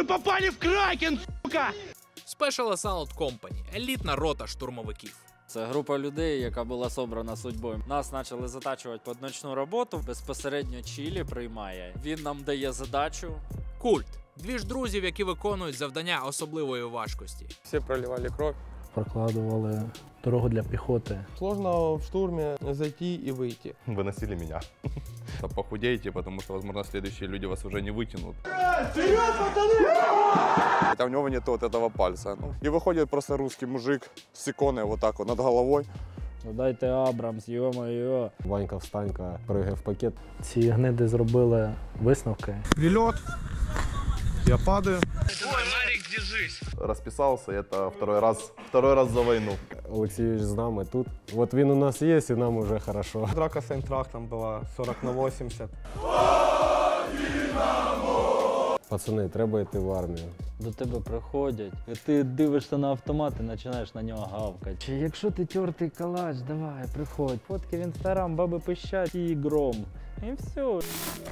попали в Кракен, сука! Special Assault Company – елітна рота штурмовиків. Це група людей, яка була собрана судьбою. Нас почали затачувати під ночну роботу. Безпосередньо Чилі приймає. Він нам дає задачу. Культ – дві ж друзів, які виконують завдання особливої важкості. Всі проливали кров. Прокладывали дорогу для пехоты. Сложно в штурме зайти и выйти. Выносили меня. Похудейте, потому что, возможно, следующие люди вас уже не вытянут. Хотя у него нет вот этого пальца. И выходит просто русский мужик с иконой вот так вот над головой. Дайте Абрамс, йо-моє. Ванька встанька, пригає в пакет. Ці гниди зробили висновки. Прилет. Я падаю. Расписался, это второй раз за войну. Олексійович з нами тут. От він у нас є, і нам уже хорошо. Драка с Айнтрахтом была 40/80. Пацани, треба йти в армію. До тебе приходять, і ти дивишся на автомат і починаєш на нього гавкати. Чи якщо ти тертий калач, давай, приходь. Фотки в інстаграм, баби пищать і гром. І все.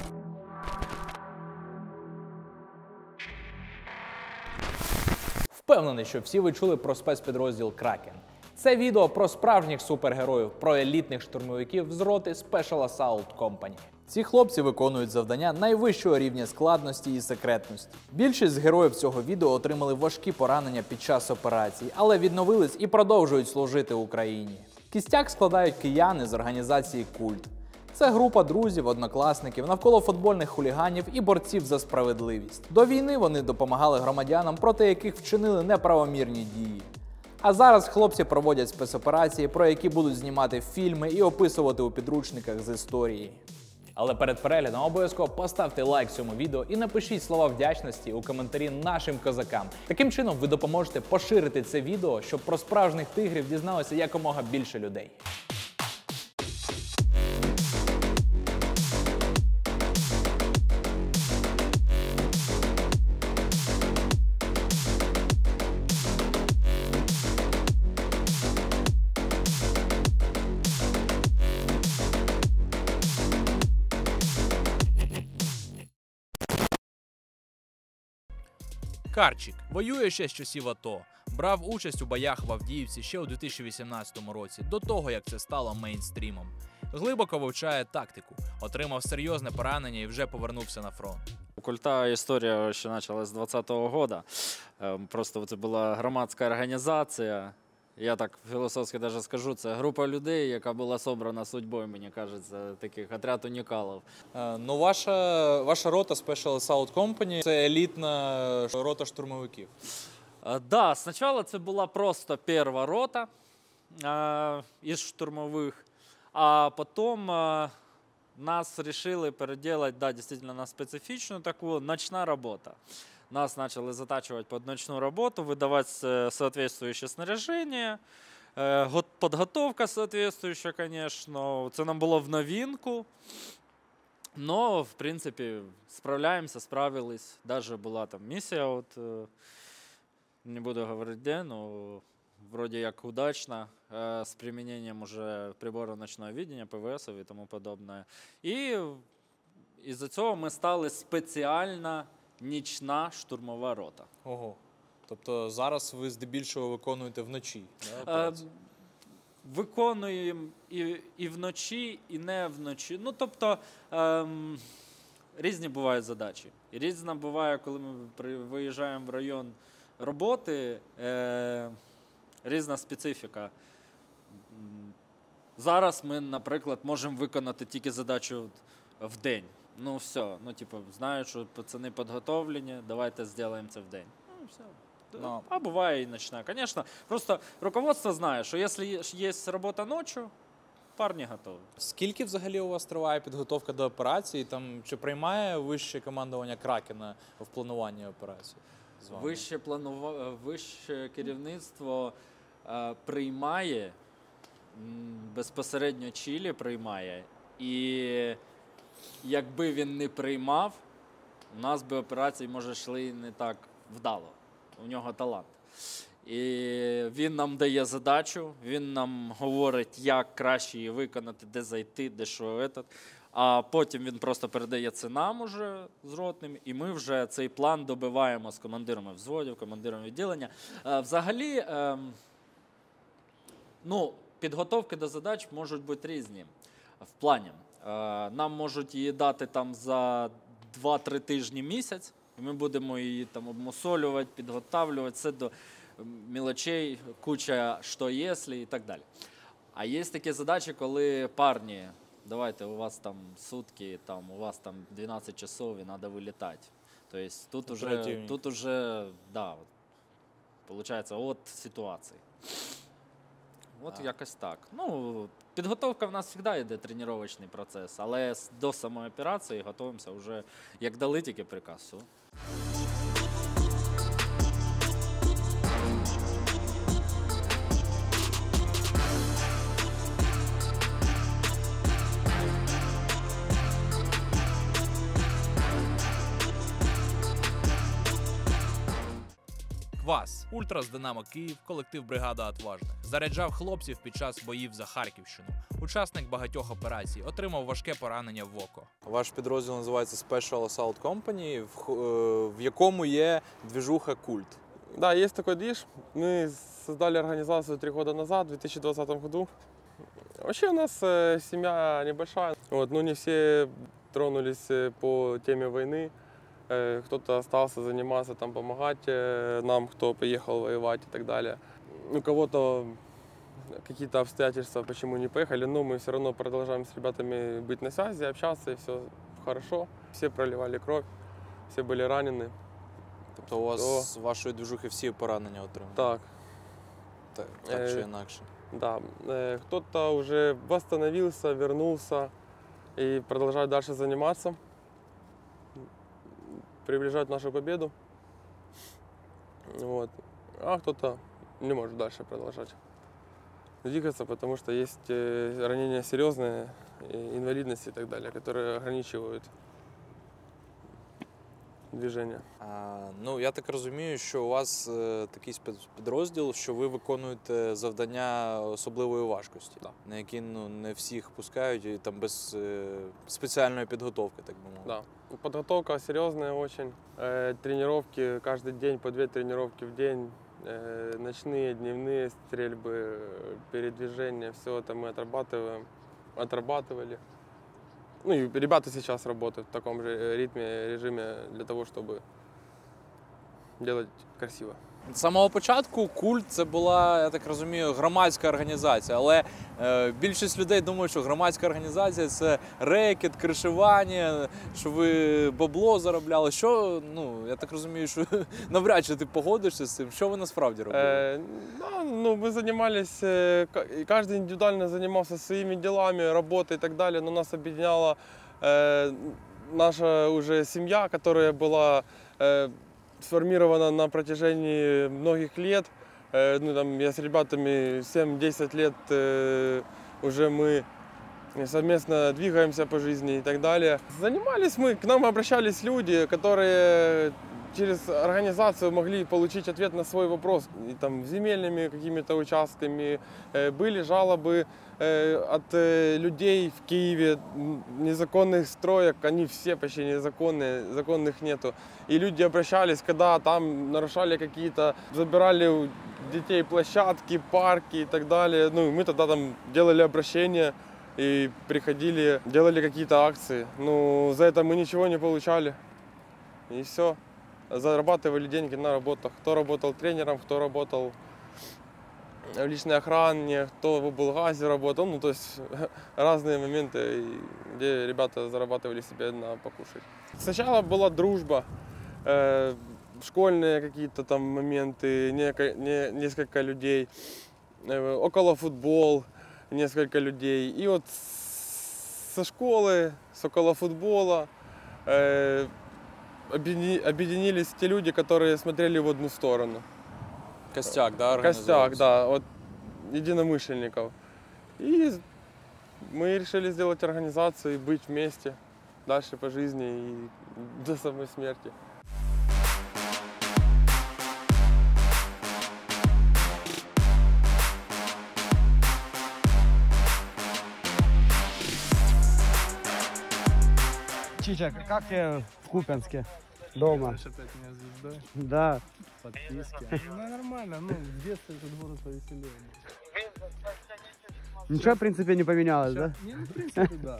Впевнений, що всі ви чули про спецпідрозділ Кракен. Це відео про справжніх супергероїв, про елітних штурмовиків з роти Special Assault Company. Ці хлопці виконують завдання найвищого рівня складності і секретності. Більшість з героїв цього відео отримали важкі поранення під час операцій, але відновились і продовжують служити Україні. Кістяк складають кияни з організації «Культ». Це група друзів, однокласників, навколо футбольних хуліганів і борців за справедливість. До війни вони допомагали громадянам, проти яких вчинили неправомірні дії. А зараз хлопці проводять спецоперації, про які будуть знімати фільми і описувати у підручниках з історії. Але перед переглядом обов'язково поставте лайк цьому відео і напишіть слова вдячності у коментарі нашим козакам. Таким чином ви допоможете поширити це відео, щоб про справжніх тигрів дізналося якомога більше людей. Карчик воює ще з часів АТО, брав участь у боях в Авдіївці ще у 2018 році, до того, як це стало мейнстрімом. Глибоко вивчає тактику, отримав серйозне поранення і вже повернувся на фронт. У Культа історія ще почалась з 2020 року. Просто це була громадська організація. Я так філософськи навіть скажу, це група людей, яка була собрана судьбою, мені кажеться, таких отряд унікалів. Ну, ваша рота Special Assault Company – це елітна рота штурмовиків. Да, спочатку це була просто перша рота із штурмових, а потім нас вирішили переделать, да, дійсно, на специфічну таку ночна робота. Нас почали затачувати під ночну роботу, видавати соответствующее снаряжение, підготовка соответствующая, звісно. Це нам було в новинку. Но, в принципі, справляємося, справились. Даже була там місія, от, не буду говорити де, но вроде як удачно, з применением уже приборів ночного видения, ПВС і тому подобное. І із-за цього ми стали спеціально нічна штурмова рота. Ого. Тобто зараз ви здебільшого виконуєте вночі? Виконуємо і вночі, і не вночі. Ну, тобто, різні бувають задачі. І різна буває, коли ми виїжджаємо в район роботи, різна специфіка. Зараз ми, наприклад, можемо виконати тільки задачу в день. Ну, все, ну, типу, знаю, що пацани підготовлені, давайте зробимо це в день. Ну, все. No. А буває і ночна. Звісно, просто руководство знає, що якщо є робота ночі, парні готові. Скільки взагалі у вас триває підготовка до операції? Там, чи приймає вище командування Кракена в плануванні операції з вами? Вище керівництво приймає, безпосередньо Чилі приймає. І якби він не приймав, у нас би операції, може, йшли не так вдало. У нього талант. І він нам дає задачу, він нам говорить, як краще її виконати, де зайти, де що. а потім він просто передає це нам уже з ротним, і ми вже цей план добиваємо з командирами взводів, командирами відділення. Взагалі, підготовки до задач можуть бути різні в плані. Нам можуть її дати там за 2-3 тижні місяць, і ми будемо її там обмусолювати, підготавлювати, все до мілочей, куча «що якщо» і так далі. А є такі задачі, коли парні, давайте, у вас там сутки, там, у вас там 12 часов і треба вилітати. Тобто тут уже, да, виходить, от ситуація. От якось так. Підготовка в нас завжди йде тренувальний процес, але до самої операції готуємося вже, як дали тільки приказ. Все. Квас, ультра з Динамо Київ, колектив бригада Отважних. Заряджав хлопців під час боїв за Харківщину. Учасник багатьох операцій, отримав важке поранення в око. Ваш підрозділ називається Special Assault Company, в якому є движуха Культ. Да, есть такой движ. Мы создали организацию 3 года назад, в 2020 году. Вообще у нас семья небольшая. Не все тронулись по теме войны. Кто-то остался заниматься, там, помогать нам, кто поехал воевать и так далее. У кого-то какие-то обстоятельства, почему не поехали, но мы все равно продолжаем с ребятами быть на связи, общаться, и все хорошо. Все проливали кровь, все были ранены. Тобто у вас з вашої движухи всі поранення отримали? Так. Так чи інакше? Да. Кто-то уже восстановился, вернулся и продолжает дальше заниматься. Приближать нашу победу. А кто-то не может дальше продолжать двигаться, потому что есть ранения серьезные, инвалидности и так далее, которые ограничивают движення. Я так розумію, що у вас такий спецпідрозділ, що ви виконуєте завдання особливої важкості, на які не всіх пускають і там без спеціальної підготовки, так би мовити. Да. Подготовка серьезная очень. Тренировки каждый день, по 2 тренировки в день. Ночные, дневные стрельбы, передвижения, все это мы отрабатывали. И ребята сейчас работают в таком же режиме для того, чтобы делать красиво. З самого початку Культ – це була, я так розумію, громадська організація, але більшість людей думають, що громадська організація – це рекет, кришування, що ви бабло заробляли. Що, я так розумію, що навряд чи ти погодишся з цим. Що ви насправді робили? Мы занимались, каждый индивидуально занимался своими делами, работой и так далее, но нас объединяла наша уже семья, которая была сформирована на протяжении многих лет. Я с ребятами 7-10 лет уже мы совместно двигаемся по жизни и так далее. Занимались мы, к нам обращались люди, которые через организацию могли получить ответ на свой вопрос. И там земельными какими-то участками. Были жалобы от людей в Киеве, незаконных строек, они все почти незаконные, законных нету. И люди обращались, когда там нарушали какие-то, забирали у детей площадки, парки и так далее. Мы тогда там делали обращения и приходили, делали какие-то акции. За это мы ничего не получали. И все. Зарабатывали деньги на работах. Кто работал тренером, кто работал в личной охране, кто в облгазе работал. То есть разные моменты, где ребята зарабатывали себе на покушать. Сначала была дружба, школьные какие-то там моменты, несколько людей, около футбол, несколько людей. И вот со школы, с около футбола объединились те люди, которые смотрели в одну сторону. Костяк, да, Костяк, да, от единомышленников. И мы решили сделать организацию и быть вместе дальше по жизни и до самой смерти. Чича, как тебе в Купянске? Дома. Опять меня звездой. Да. Подписки. Ну, нормально, ну, в детстве этот город повеселее. Ничего, в принципе, не поменялось, да? Не, ну, в принципе, да.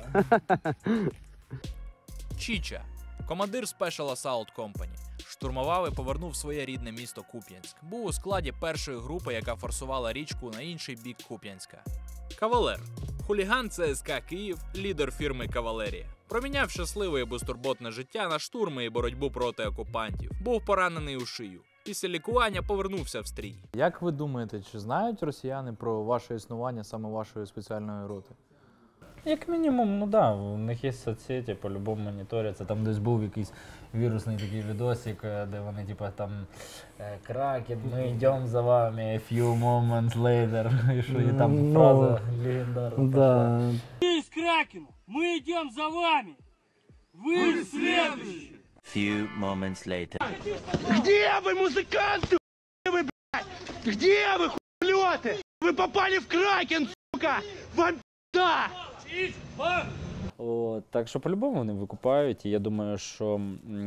Чича, командир Special Assault Company, штурмував і повернув своє рідне місто Куп'янськ. Був у складі першої групи, яка форсувала річку на інший бік Куп'янська. Кавалер. Хуліган ЦСКА Київ, лідер фірми «Кавалерія». Проміняв щасливе і безтурботне життя на штурми і боротьбу проти окупантів. Був поранений у шию. Після лікування повернувся в стрій. Як ви думаєте, чи знають росіяни про ваше існування саме вашої спеціальної роти? Як мінімум, ну да, у них є соцсеті, по-любому моніторяться. Там десь був якийсь вірусний такий відосик, де вони типа там «Кракен, ми йдемо за вами, a few moments later», і що і там фраза легендарна. Да. Мы с Кракеном, мы идем за вами, вы следующие. Few moments later. Где вы, музыканты, вы, блядь? Где вы, хуйлёты? Вы попали в Кракен, сука! Вам пизда! От, так що по-любому вони викупають, і я думаю, що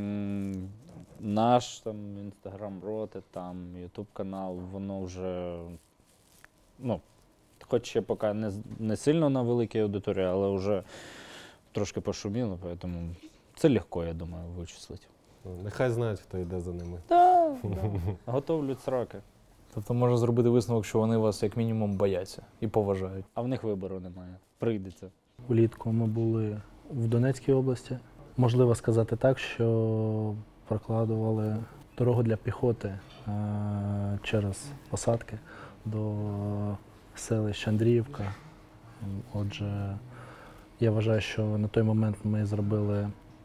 наш там інстаграм роти, там ютуб канал, воно вже, ну, хоч ще поки не сильно на великій аудиторії, але вже трошки пошуміло, тому це легко, я думаю, вичислити. Нехай знають, хто йде за ними. Так, готовлять сроки. Тобто можна зробити висновок, що вони вас як мінімум бояться і поважають. А в них вибору немає. Прийдеться. Влітку ми були в Донецькій області. Можливо сказати так, що прокладували дорогу для піхоти через посадки до селища Андріївка. Отже, я вважаю, що на той момент ми зробили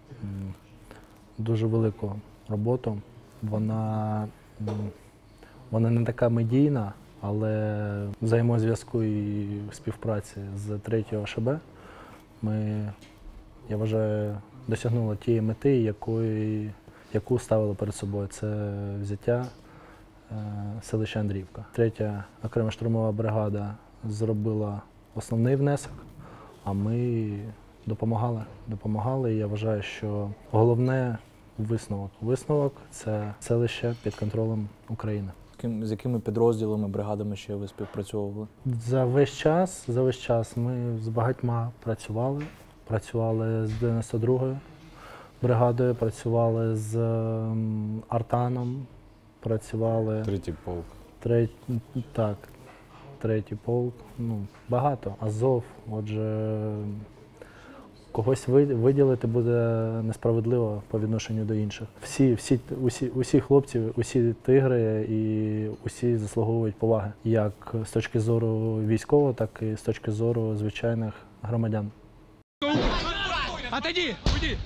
дуже велику роботу. Вона не така медійна, але в взаємозв'язку і співпраці з 3-го ШБ ми, я вважаю, досягнули тієї мети, яку ставили перед собою. Це взяття селища Андріївка. 3-я окрема штурмова бригада зробила основний внесок, а ми допомагали. І я вважаю, що головне висновок – це селище під контролем України. З якими підрозділами, бригадами ще ви співпрацьовували? За весь час ми з багатьма працювали. Працювали з 92-ю бригадою, працювали з Артаном, працювали… 3-й полк. Так, 3-й полк. Ну, багато. Азов. Отже, когось виділити буде несправедливо по відношенню до інших. Усі хлопці, усі тигри і усі заслуговують поваги. Як з точки зору військового, так і з точки зору звичайних громадян. Отойди, уйди!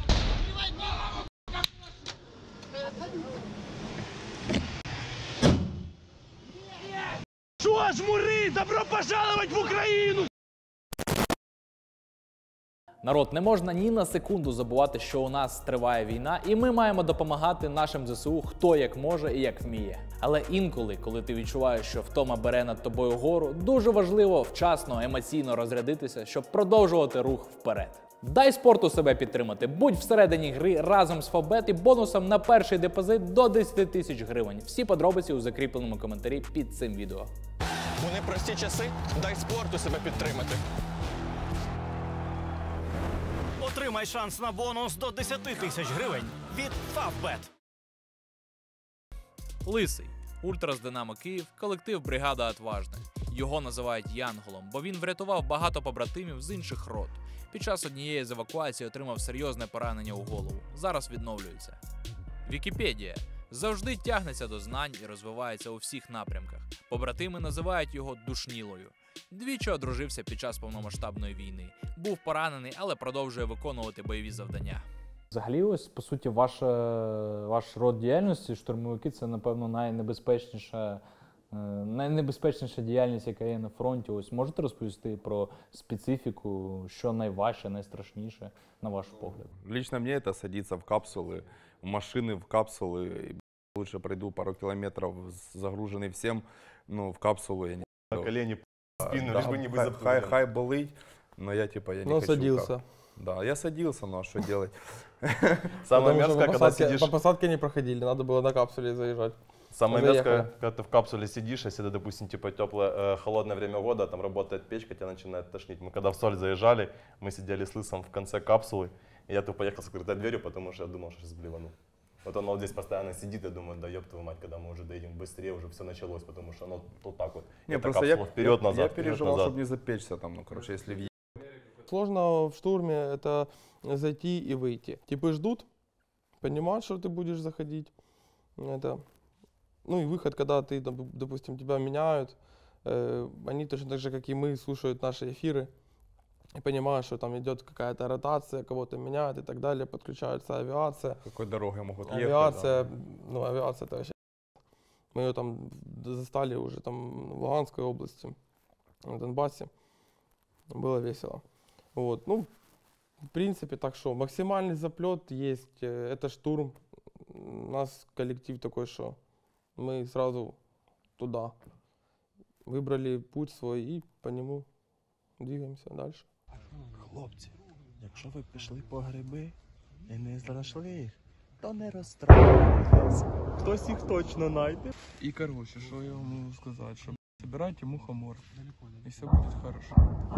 Шо, жмури, добро пожаловать в Україну! Народ, не можна ні на секунду забувати, що у нас триває війна, і ми маємо допомагати нашим ЗСУ хто як може і як вміє. Але інколи, коли ти відчуваєш, що втома бере над тобою гору, дуже важливо вчасно, емоційно розрядитися, щоб продовжувати рух вперед. Дай спорту себе підтримати, будь всередині гри разом з Фавбет і бонусом на перший депозит до 10 тисяч гривень. Всі подробиці у закріпленому коментарі під цим відео. У непрості часи дай спорту себе підтримати. Отримай шанс на бонус до 10 тисяч гривень від Фавбет. Лисий. Ультра з Динамо Київ, колектив бригада Отважних. Його називають Янголом, бо він врятував багато побратимів з інших рот. Під час однієї з евакуацій отримав серйозне поранення у голову. Зараз відновлюється. Вікіпедія. Завжди тягнеться до знань і розвивається у всіх напрямках. Побратими називають його душнілою. Двічі одружився під час повномасштабної війни. Був поранений, але продовжує виконувати бойові завдання. Взагалі, ось, по суті, ваш род діяльності, штурмовики, це, напевно, найнебезпечніша діяльність, яка є на фронті. Ось можете розповісти про специфіку, що найважче, найстрашніше, на ваш погляд? Лично мне это садиться в капсулы, в машины, в капсулы. Лучше пройду пару километров, загруженный всем, но в капсулу я не... На колени, спину, лишь бы не быть хай болить, но я типа я не хочу. садился. Да, я садился, но что делать? Самое мерзкое, когда сидишь... По посадке не проходили, надо было на капсуле заезжать. Самое мерзкое, когда ты в капсуле сидишь, если это, допустим, типа теплое, холодное время года, там работает печка, тебя начинает тошнить. Мы когда в Соль заезжали, мы сидели с Лысом в конце капсулы, и я тут поехал с открытой дверью, потому что я думал, что сейчас блевану. Вот оно вот здесь постоянно сидит, я думаю, да ёб твою мать, когда мы уже доедем быстрее, уже все началось, потому что оно вот так вот. Не, это просто капсула вперед-назад. Я переживал, чтобы не запечься там, ну, короче, если в... Сложно в штурме это зайти и выйти. Типы ждут, понимают, что ты будешь заходить. Это... Ну и выход, когда ты, допустим, тебя меняют, они точно так же, как и мы, слушают наши эфиры и понимают, что там идет какая-то ротация, кого-то меняют и так далее, подключается авиация. Какой дорогой могут ехать? Авиация, да. Ну авиация это вообще... Мы ее там застали уже там в Луганской области, на Донбассе. Было весело. Вот, ну, в принципе, так что, максимальный заплет есть, это штурм. У нас коллектив такой, что мы сразу туда. Выбрали путь свой и по нему двигаемся дальше. Хлопці, якщо ви пішли по гриби і не знайшли їх, то не розстраюйтесь. Хтось їх точно знайде. И, короче, что я вам могу сказать, что собирайте мухомор, и все будет хорошо.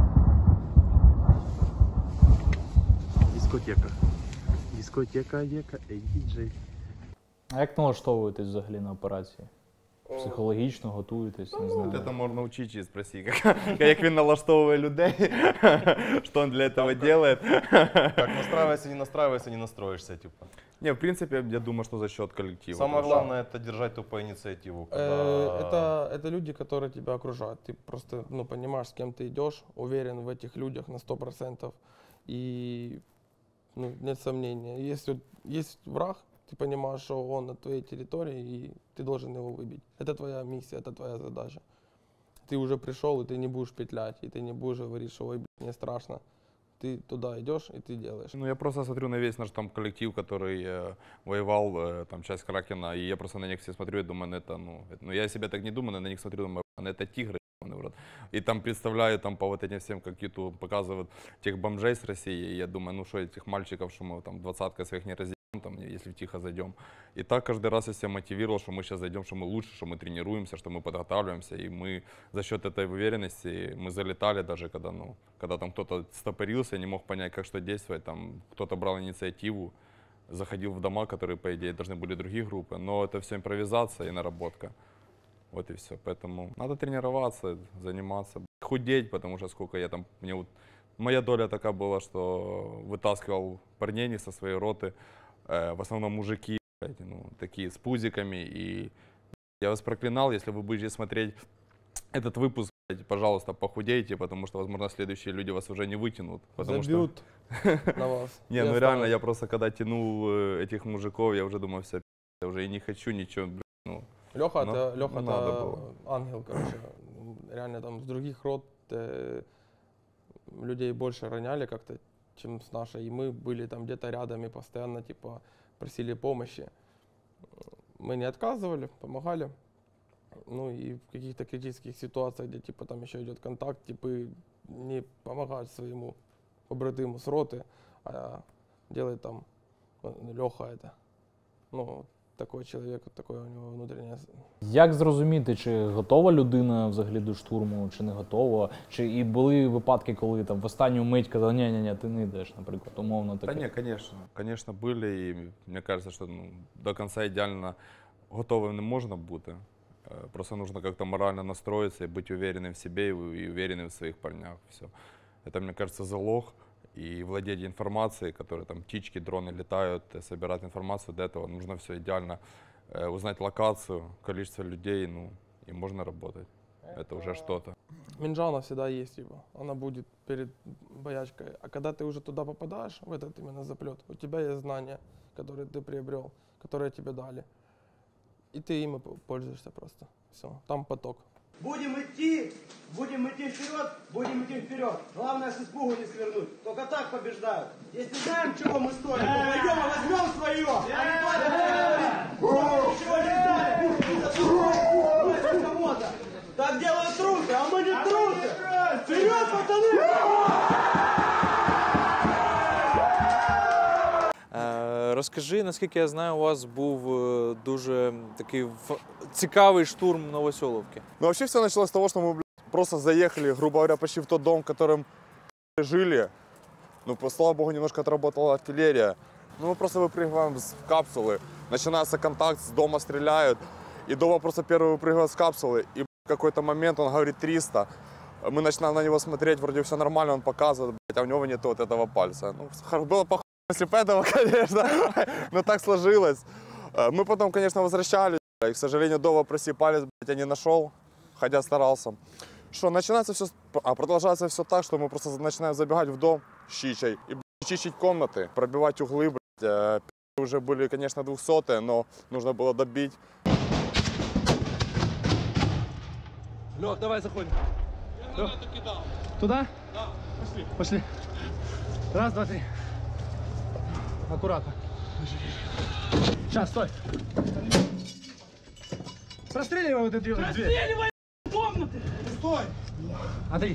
Дискотека. Дискотека, ей діджей. А як налаштовуєтесь взагалі на операції? Психологічно готуєтесь, не знаю. Це можна вчити і спросити, як він налаштовує людей, що він для цього робить. Как настраивайся, не настраивайся, не настроишься, типа. Не, в принципе, я думаю, что за счет коллектива. Самое главное это держать тупо инициативу. Это люди, которые тебя окружают. Ты просто понимаешь, с кем ты идешь, уверен в этих людях на 100%. И нет сомнения. Если есть враг, ты понимаешь, что он на твоей территории, и ты должен его выбить. Это твоя миссия, это твоя задача. Ты уже пришел, и ты не будешь петлять, и ты не будешь говорить, что ой, мне страшно. Ты туда идешь, и ты делаешь. Ну, я просто смотрю на весь наш там коллектив, который воевал, там, часть Кракена, и я просто на них все смотрю и думаю, ну, я себе так не думаю, но на них смотрю, думаю, это тигры. И там представляю, там по вот этим всем, как YouTube показывают, тех бомжей с России, и я думаю, ну что, этих мальчиков, что мы там 20-кой своих не разделим, там, если тихо зайдем. И так каждый раз я себя мотивировал, что мы сейчас зайдем, что мы лучше, что мы тренируемся, что мы подготавливаемся, и мы за счет этой уверенности, мы залетали даже, когда там кто-то стопорился, не мог понять, как что действовать, там кто-то брал инициативу, заходил в дома, которые, по идее, должны были другие группы, но это все импровизация и наработка. Вот и все. Поэтому надо тренироваться, заниматься, худеть, потому что сколько я там, моя доля такая была, что вытаскивал парней со своей роты, в основном мужики, такие с пузиками, и я вас проклинал, если вы будете смотреть этот выпуск, пожалуйста, похудейте, потому что, возможно, следующие люди вас уже не вытянут. Забьют на вас. Не, ну реально, я просто когда тянул этих мужиков, я уже думал, все, я уже и не хочу ничего, Леха это ангел, короче. Реально там с других рот людей больше роняли как-то, чем с нашей. И мы были там где-то рядом и постоянно типа просили помощи. Мы не отказывали, помогали. Ну и в каких-то критических ситуациях, где типа там еще идет контакт, типы не помогают своему побратиму с роты, а делает там Леха это. Ну, такой чоловік, такое у нього внутрішнє. Як зрозуміти, чи готова людина взагалі до штурму, чи не готова? Чи і були випадки, коли там в останню мить казали, ні, ти не йдеш, наприклад, умовно таке? Да не, конечно, были, и мне кажется, что до конца идеально готовым не можно бути. Просто нужно как-то морально настроиться и быть уверенным в себе и уверенным в своих парнях. Все. Это, мне кажется, залог. И владеть информацией, которые там птички, дроны летают, собирать информацию, для этого нужно все идеально узнать локацию, количество людей, и можно работать. Это уже что-то. Минджана всегда есть, типа, она будет перед боячкой. А когда ты уже туда попадаешь, в этот именно заплет, у тебя есть знания, которые ты приобрел, которые тебе дали. И ты ими пользуешься просто. Все, там поток. Будем идти вперед. Главное, с испугу не свернуть. Только так побеждают. Если знаем, чего мы стоим, то пойдем и возьмем свое. Ничего не знали. Так делают трусы, а мы не трусы. Вперед, пацаны! Розкажи, наскільки я знаю, у вас був дуже такий цікавий штурм Новоселовки. Ну, вообще все началось с того, что мы, просто заехали, грубо говоря, почти в тот дом, в котором жили. Ну, слава богу, немножко отработала артиллерия. Ну, мы просто выпрыгиваем с капсулы, начинается контакт, с дома стреляют. И Дова просто первый выпрыгивает с капсулы, и в какой-то момент он говорит 300. Мы начинаем на него смотреть, вроде все нормально, он показывает, а у него нет вот этого пальца. Ну, было похоже, если бы этого, конечно, но так сложилось. Мы потом, конечно, возвращались, и, к сожалению, Дова прости палец, я не нашел, хотя старался. Что, начинается все, продолжается все так, что мы просто начинаем забегать в дом щичей и чистить комнаты, пробивать углы, уже были, конечно, 200-е, но нужно было добить. Лёх, давай заходим. Лёх. Туда? Да, пошли. Пошли. Раз, два, три. Аккуратно. Сейчас, стой. Простреливай вот эту дверь. Простреливай комнаты! Стой! Андрей.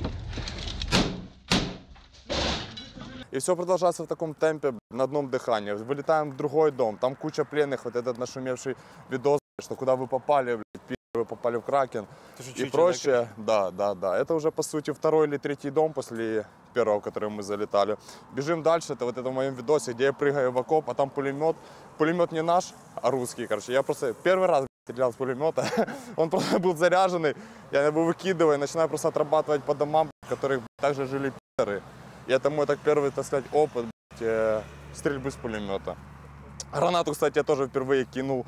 И все продолжается в таком темпе, на одном дыхании. Вылетаем в другой дом, там куча пленных, вот этот нашумевший видос, что куда вы попали, вы попали в Кракен и прочее. Да. Это уже, по сути, второй или третий дом после первого, в который мы залетали. Бежим дальше, это вот это в моем видосе, где я прыгаю в окоп, а там пулемет. Пулемет не наш, а русский, короче. Я просто первый раз стрелял с пулемета, он просто был заряженный, я его выкидываю, начинаю просто отрабатывать по домам, в которых также жили пидоры. И это мой так первый, так сказать, опыт стрельбы с пулемета. Гранату, кстати, я тоже впервые кинул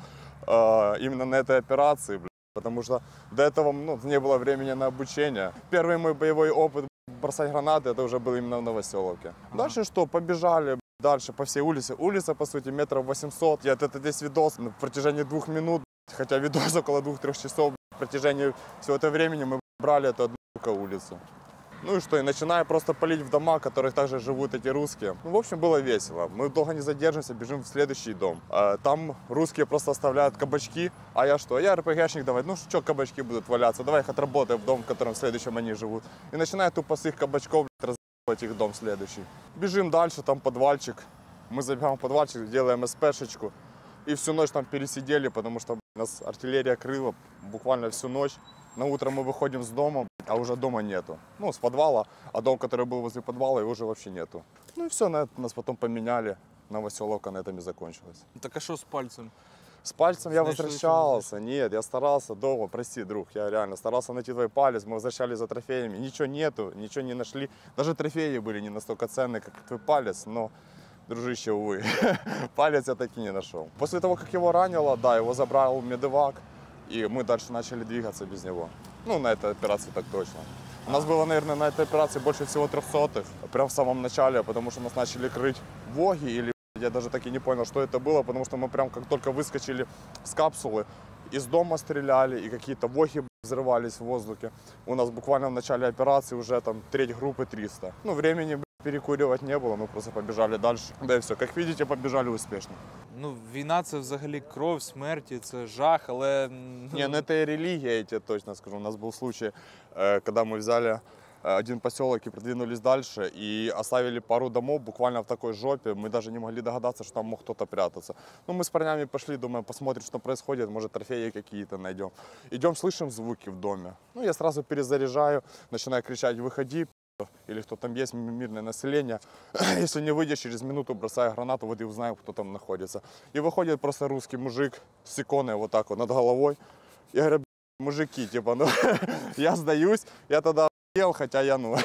именно на этой операции, потому что до этого не было времени на обучение. Первый мой боевой опыт бросать гранаты, это уже был именно в Новоселовке. Дальше что? Побежали дальше по всей улице. Улица, по сути, метров 800. Это здесь видос на протяжении 2 минут, хотя видос около 2-3 часов. В протяжении всего этого времени мы брали эту одну улицу. Ну и что, и начиная просто палить в дома, в которых также живут эти русские. Ну, в общем, было весело. Мы долго не задержимся, бежим в следующий дом. Там русские просто оставляют кабачки, а я что? Я РПГшник, давай, ну что кабачки будут валяться, давай их отработаем в дом, в котором в следующем они живут. И начинаю тупо с их кабачков разбивать их дом следующий. Бежим дальше, там подвальчик. Мы забегаем в подвальчик, делаем СПшечку. И всю ночь там пересидели, потому что нас артиллерия крыла буквально всю ночь. На утро мы выходим с дома, а уже дома нету. Ну, с подвала, а дом, который был возле подвала, его уже вообще нету. Ну и все, нас потом поменяли. Новоселовка на этом и закончилась. Так а что с пальцем? С пальцем я возвращался. Нет, я старался дома, прости, друг, я реально старался найти твой палец. Мы возвращались за трофеями. Ничего нету, ничего не нашли. Даже трофеи были не настолько ценные, как твой палец, но... Дружище, увы, палец я таки не нашел. После того, как его ранило, да, его забрал медевак, и мы дальше начали двигаться без него. Ну, на этой операции так точно. У нас было, наверное, на этой операции больше всего 300-х, прям в самом начале, потому что нас начали крыть воги, или я даже так и не понял, что это было, потому что мы прям как только выскочили с капсулы, из дома стреляли, и какие-то воги взрывались в воздухе. У нас буквально в начале операции уже там треть группы 300. Ну, времени перекуривать не было, мы просто побежали дальше. Да и все, как видите, побежали успешно. Ну, війна – це взагалі кров, смерті, це жах, але... Не, ну это и религия, я тебе точно скажу. У нас был случай, когда мы взяли один поселок и продвинулись дальше, и оставили пару домов буквально в такой жопе. Мы даже не могли догадаться, что там мог кто-то прятаться. Ну, мы с парнями пошли, думаем, посмотрим, что происходит, может, трофеи какие-то найдем. Идем, слышим звуки в доме. Ну, я сразу перезаряжаю, начинаю кричать: «Выходи!» Или кто там есть, мирное население. Если не выйдешь, через минуту бросаю гранату, вот и узнаем, кто там находится. И выходит просто русский мужик с иконой вот так вот над головой. Я говорю: мужики, типа, ну, я сдаюсь, я тогда ел, хотя я, ну,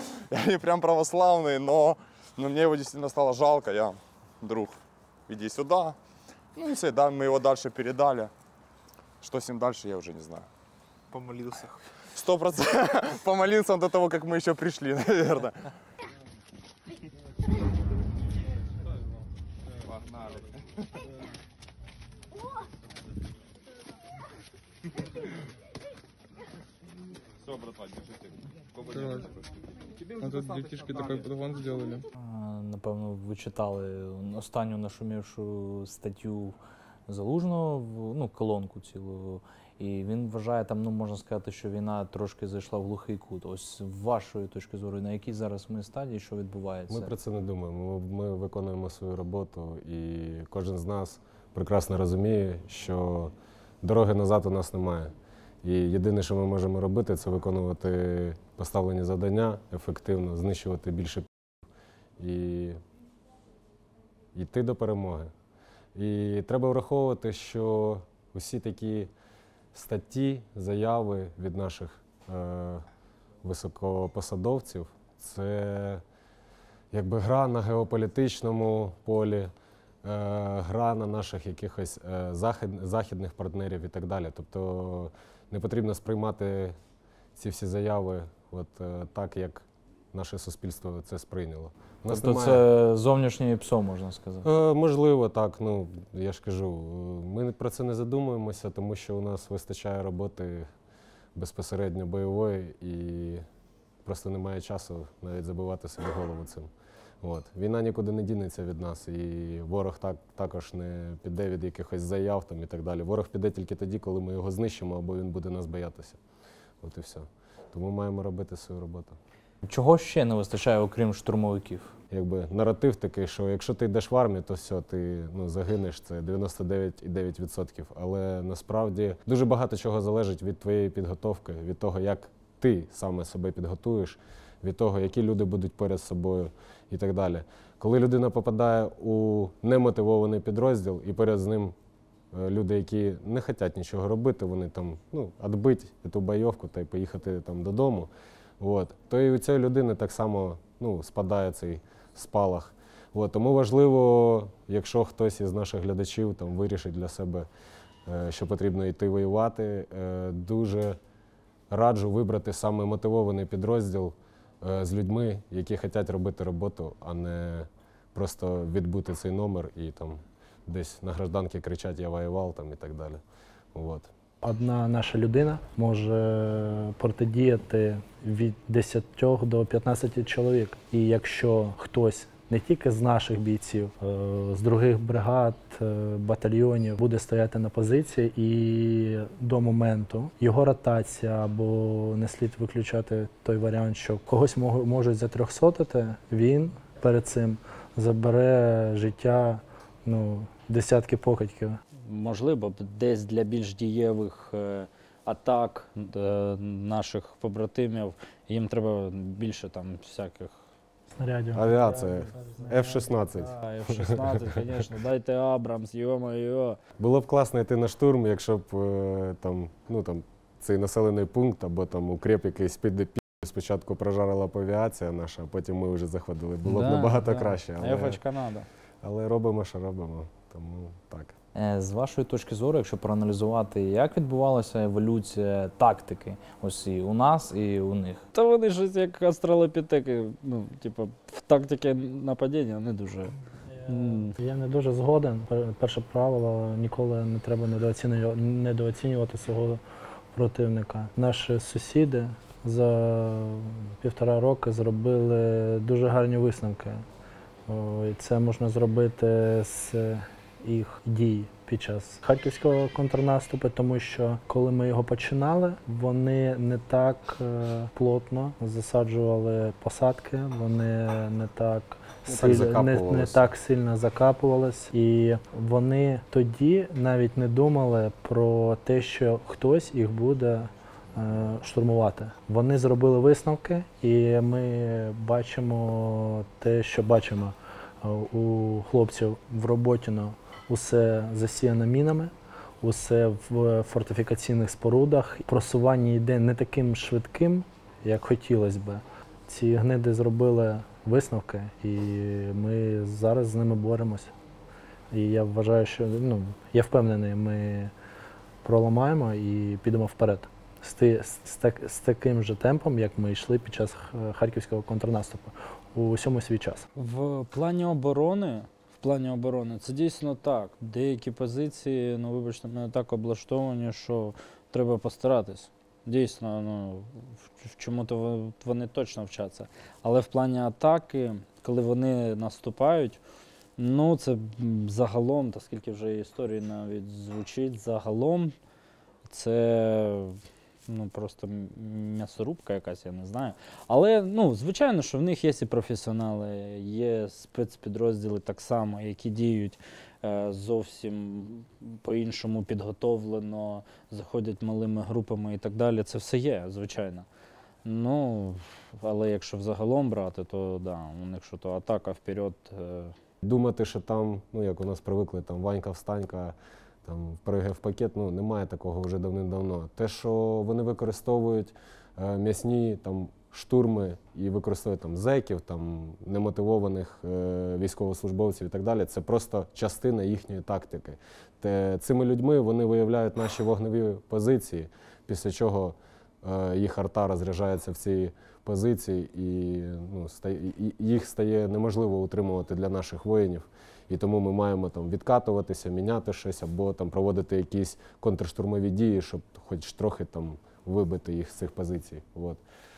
я не прям православный, но мне его действительно стало жалко. Я: друг, иди сюда. Ну и все, да, мы его дальше передали. Что с ним дальше, я уже не знаю. Помолился. 100%. Помолился он до того, как мы еще пришли, наверное. Погнали. Все, братва, держите. А тут детишки такой подгон сделали. Напевно, ви читали останню нашумівшу статтю Залужного, ну, колонку цілу. І він вважає, там, ну, можна сказати, що війна трошки зайшла в глухий кут. Ось з вашої точки зору, на якій зараз ми стадії, що відбувається? Ми про це не думаємо. Ми виконуємо свою роботу, і кожен з нас прекрасно розуміє, що дороги назад у нас немає. І єдине, що ми можемо робити, це виконувати поставлені завдання ефективно, знищувати більше і йти до перемоги. І треба враховувати, що усі такі статті, заяви від наших високопосадовців – це якби гра на геополітичному полі, гра на наших якихось західних партнерів і так далі. Тобто не потрібно сприймати ці всі заяви от так, як наше суспільство це сприйняло. Тобто це зовнішнє ПСО, можна сказати? Можливо, так. Ну, я ж кажу, ми про це не задумуємося, тому що у нас вистачає роботи безпосередньо бойової і просто немає часу навіть забивати собі голову цим. От. Війна нікуди не дінеться від нас, і ворог також не піде від якихось заяв там, і так далі. Ворог піде тільки тоді, коли ми його знищимо, або він буде нас боятися. От і все. Тому маємо робити свою роботу. Чого ще не вистачає, окрім штурмовиків? Якби наратив такий, що якщо ти йдеш в армію, то все, ти загинеш, це 99,9%. Але насправді дуже багато чого залежить від твоєї підготовки, від того, як ти саме себе підготуєш, від того, які люди будуть поряд з собою і так далі. Коли людина попадає у немотивований підрозділ і поряд з ним люди, які не хочуть нічого робити, вони там, відбити цю бойовку та й поїхати там додому, то і у цієї людини так само спадає цей спалах. Тому важливо, якщо хтось із наших глядачів там вирішить для себе, що потрібно йти воювати, дуже раджу вибрати саме мотивований підрозділ з людьми, які хочуть робити роботу, а не просто відбути цей номер і там десь на гражданці кричать «я воював» там, і так далі. Одна наша людина може протидіяти від 10 до 15 чоловік. І якщо хтось не тільки з наших бійців, з других бригад, батальйонів буде стояти на позиції, і до моменту його ротація, або не слід виключати той варіант, що когось можуть затрьохсотити, він перед цим забере життя десятки покидьків. Можливо, десь для більш дієвих атак наших побратимів їм треба більше там всяких снарядів. Авіація, F-16. F-16, звісно, дайте Абрамс, йо-моє. Було б класно йти на штурм, якщо б цей населений пункт або там укреп якийсь під спочатку прожарила б авіація наша, а потім ми вже заходили. Було б набагато краще. Ефочка надо. Але робимо, що робимо, тому так. З вашої точки зору, якщо проаналізувати, як відбувалася еволюція тактики ось і у нас, і у них? Та вони щось як австралопітеки, в тактиці нападіння не дуже. Я не дуже згоден. Перше правило – ніколи не треба недооцінювати свого противника. Наші сусіди за 1,5 роки зробили дуже гарні висновки. І це можна зробити з їх дій під час харківського контрнаступу, тому що коли ми його починали, вони не так плотно засаджували посадки, вони не так сильно закапувались. І вони тоді навіть не думали про те, що хтось їх буде штурмувати. Вони зробили висновки, і ми бачимо те, що бачимо. У хлопців в Роботіно усе засіяно мінами, усе в фортифікаційних спорудах. Просування йде не таким швидким, як хотілося б. Ці гниди зробили висновки, і ми зараз з ними боремося. І я вважаю, що, я впевнений, ми проламаємо і підемо вперед. З таким же темпом, як ми йшли під час харківського контрнаступу. У усьому свій час. В плані оборони це дійсно так. Деякі позиції, вибачте, мене так облаштовані, що треба постаратись. Дійсно, в чому-то вони точно вчаться. Але в плані атаки, коли вони наступають, Ну, це загалом, та скільки вже історії навіть звучить, загалом це просто м'ясорубка якась, я не знаю. Але, звичайно, що в них є і професіонали, є спецпідрозділи так само, які діють зовсім по-іншому підготовлено, заходять малими групами і так далі. Це все є, звичайно. Але якщо взагалом брати, то да, у них що то атака вперед. Думати, що там, як у нас привикли, там Ванька-встанька, там пригай в пакет, немає такого вже давним-давно. Те, що вони використовують м'ясні там штурми і використовують там зеків, там немотивованих військовослужбовців і так далі, це просто частина їхньої тактики. Цими людьми вони виявляють наші вогневі позиції, після чого їх арта розряджається в ці позиції і їх стає неможливо утримувати для наших воїнів. І тому ми маємо там відкатуватися, міняти щось або там проводити якісь контрштурмові дії, щоб хоч трохи там вибити їх з цих позицій. От.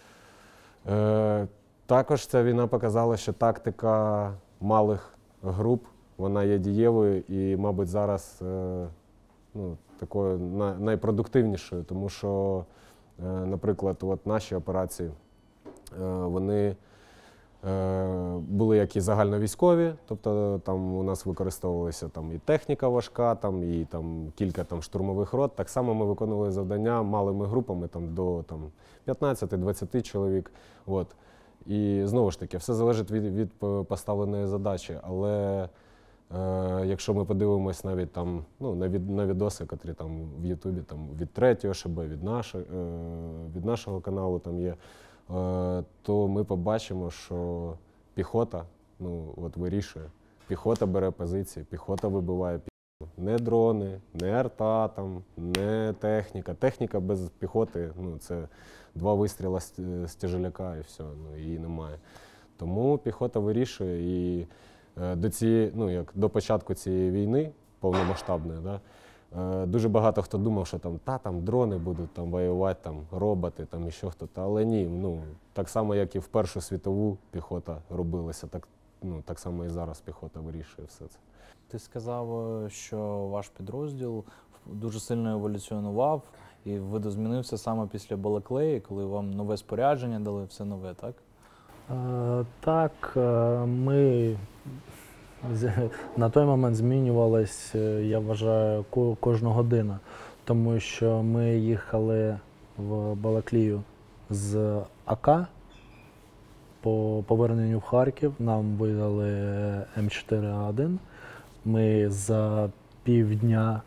Також ця війна показала, що тактика малих груп, вона є дієвою і, мабуть, зараз такою найпродуктивнішою, тому що, наприклад, наші операції, вони були як і загальновійськові, тобто там у нас використовувалася і техніка важка, і кілька штурмових рот. Так само ми виконували завдання малими групами до 15-20 чоловік. От. І знову ж таки, все залежить від поставленої задачі. Але якщо ми подивимось навіть на відоси, які в Ютубі від 3-го ШБ, від нашого каналу там є, то ми побачимо, що піхота вирішує. Піхота бере позиції, піхота вибиває піхоту. Не дрони, не арта, не техніка. Техніка без піхоти це 2 вистріли з тяжеляка і все, її немає. Тому піхота вирішує і до початку цієї війни повномасштабної, дуже багато хто думав, що там дрони будуть воювати, роботи, і ще хтось. Але ні, так само, як і в Першу світову піхота робилася, так само і зараз піхота вирішує все це. Ти сказав, що ваш підрозділ дуже сильно еволюціонував і видозмінився саме після Балаклеї, коли вам нове спорядження дали, все нове, так? Так, ми на той момент змінювалось, я вважаю, кожну годину, тому що ми їхали в Балаклію з АК, по поверненню в Харків нам видали М4А1. Ми за півдня,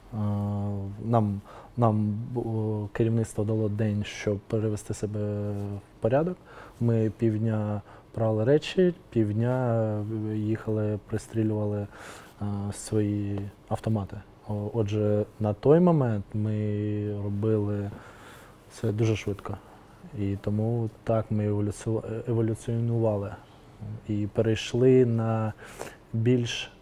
нам керівництво дало день, щоб перевести себе в порядок. Ми півдня брали речі, півдня їхали, пристрілювали свої автомати. Отже, на той момент ми робили це дуже швидко. І тому так ми еволюціонували і перейшли на більш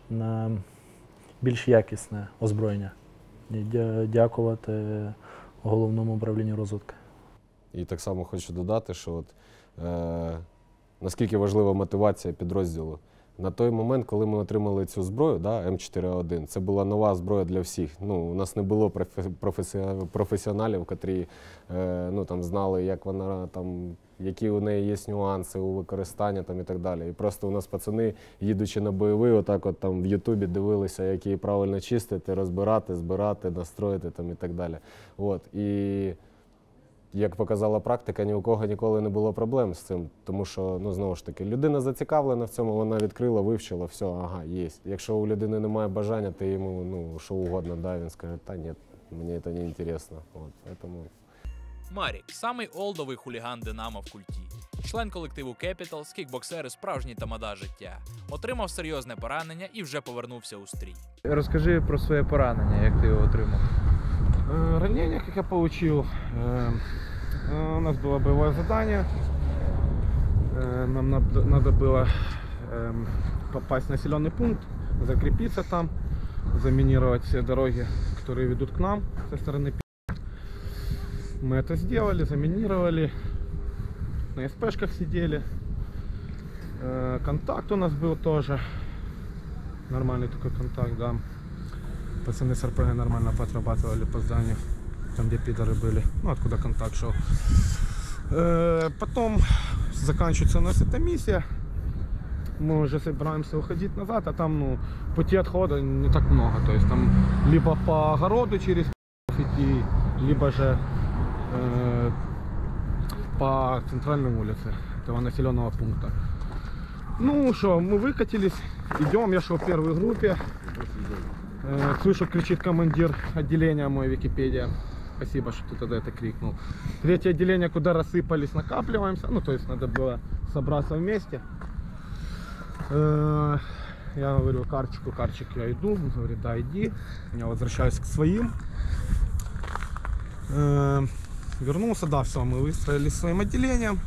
якісне озброєння. Дякувати Головному управлінню розвідки. І так само хочу додати, що наскільки важлива мотивація підрозділу. На той момент, коли ми отримали цю зброю, М4А1, це була нова зброя для всіх. У нас не було професіоналів, які знали, як вона, які у неї є нюанси у використанні і так далі. І просто у нас пацани, їдучи на бойовий, в Ютубі дивилися, як її правильно чистити, розбирати, збирати, настроїти і так далі. І як показала практика, ні у кого ніколи не було проблем з цим, тому що, знову ж таки, людина зацікавлена в цьому, вона відкрила, вивчила, все, ага, є. Якщо у людини немає бажання, ти йому що угодно, він скаже, та ні, мені це не цікаво. Марік – самий олдовий хуліган Динамо в культі. Член колективу Capitals, кікбоксер і справжній тамада життя. Отримав серйозне поранення і вже повернувся у стрій. Розкажи про своє поранення, як ти його отримав. Ранение, как я получил, у нас было боевое задание, нам надо было попасть в населенный пункт, закрепиться там, заминировать все дороги, которые ведут к нам со стороны Пи***. Мы это сделали, заминировали, на СПшках сидели, контакт у нас был тоже, Нормальный такой контакт, да. Пацаны с РПГ нормально поотрабатывали по зданию, там где пидоры были, ну откуда контакт шел. Потом заканчивается у нас эта миссия. Мы уже собираемся уходить назад, а там, ну, пути отхода не так много. То есть там либо по огороду через идти, либо же по центральной улице этого населенного пункта. Ну что, мы выкатились, идем, я шел в первой группе. Слышу, кричит командир отделения мой, Википедия. Спасибо, что ты тогда это крикнул. Третье отделение, куда рассыпались, накапливаемся. Ну, то есть надо было собраться вместе. Я говорю Карчик, я иду. Он говорит, да, иди. Я возвращаюсь к своим. Вернулся, да, все, мы выстроились своим отделением.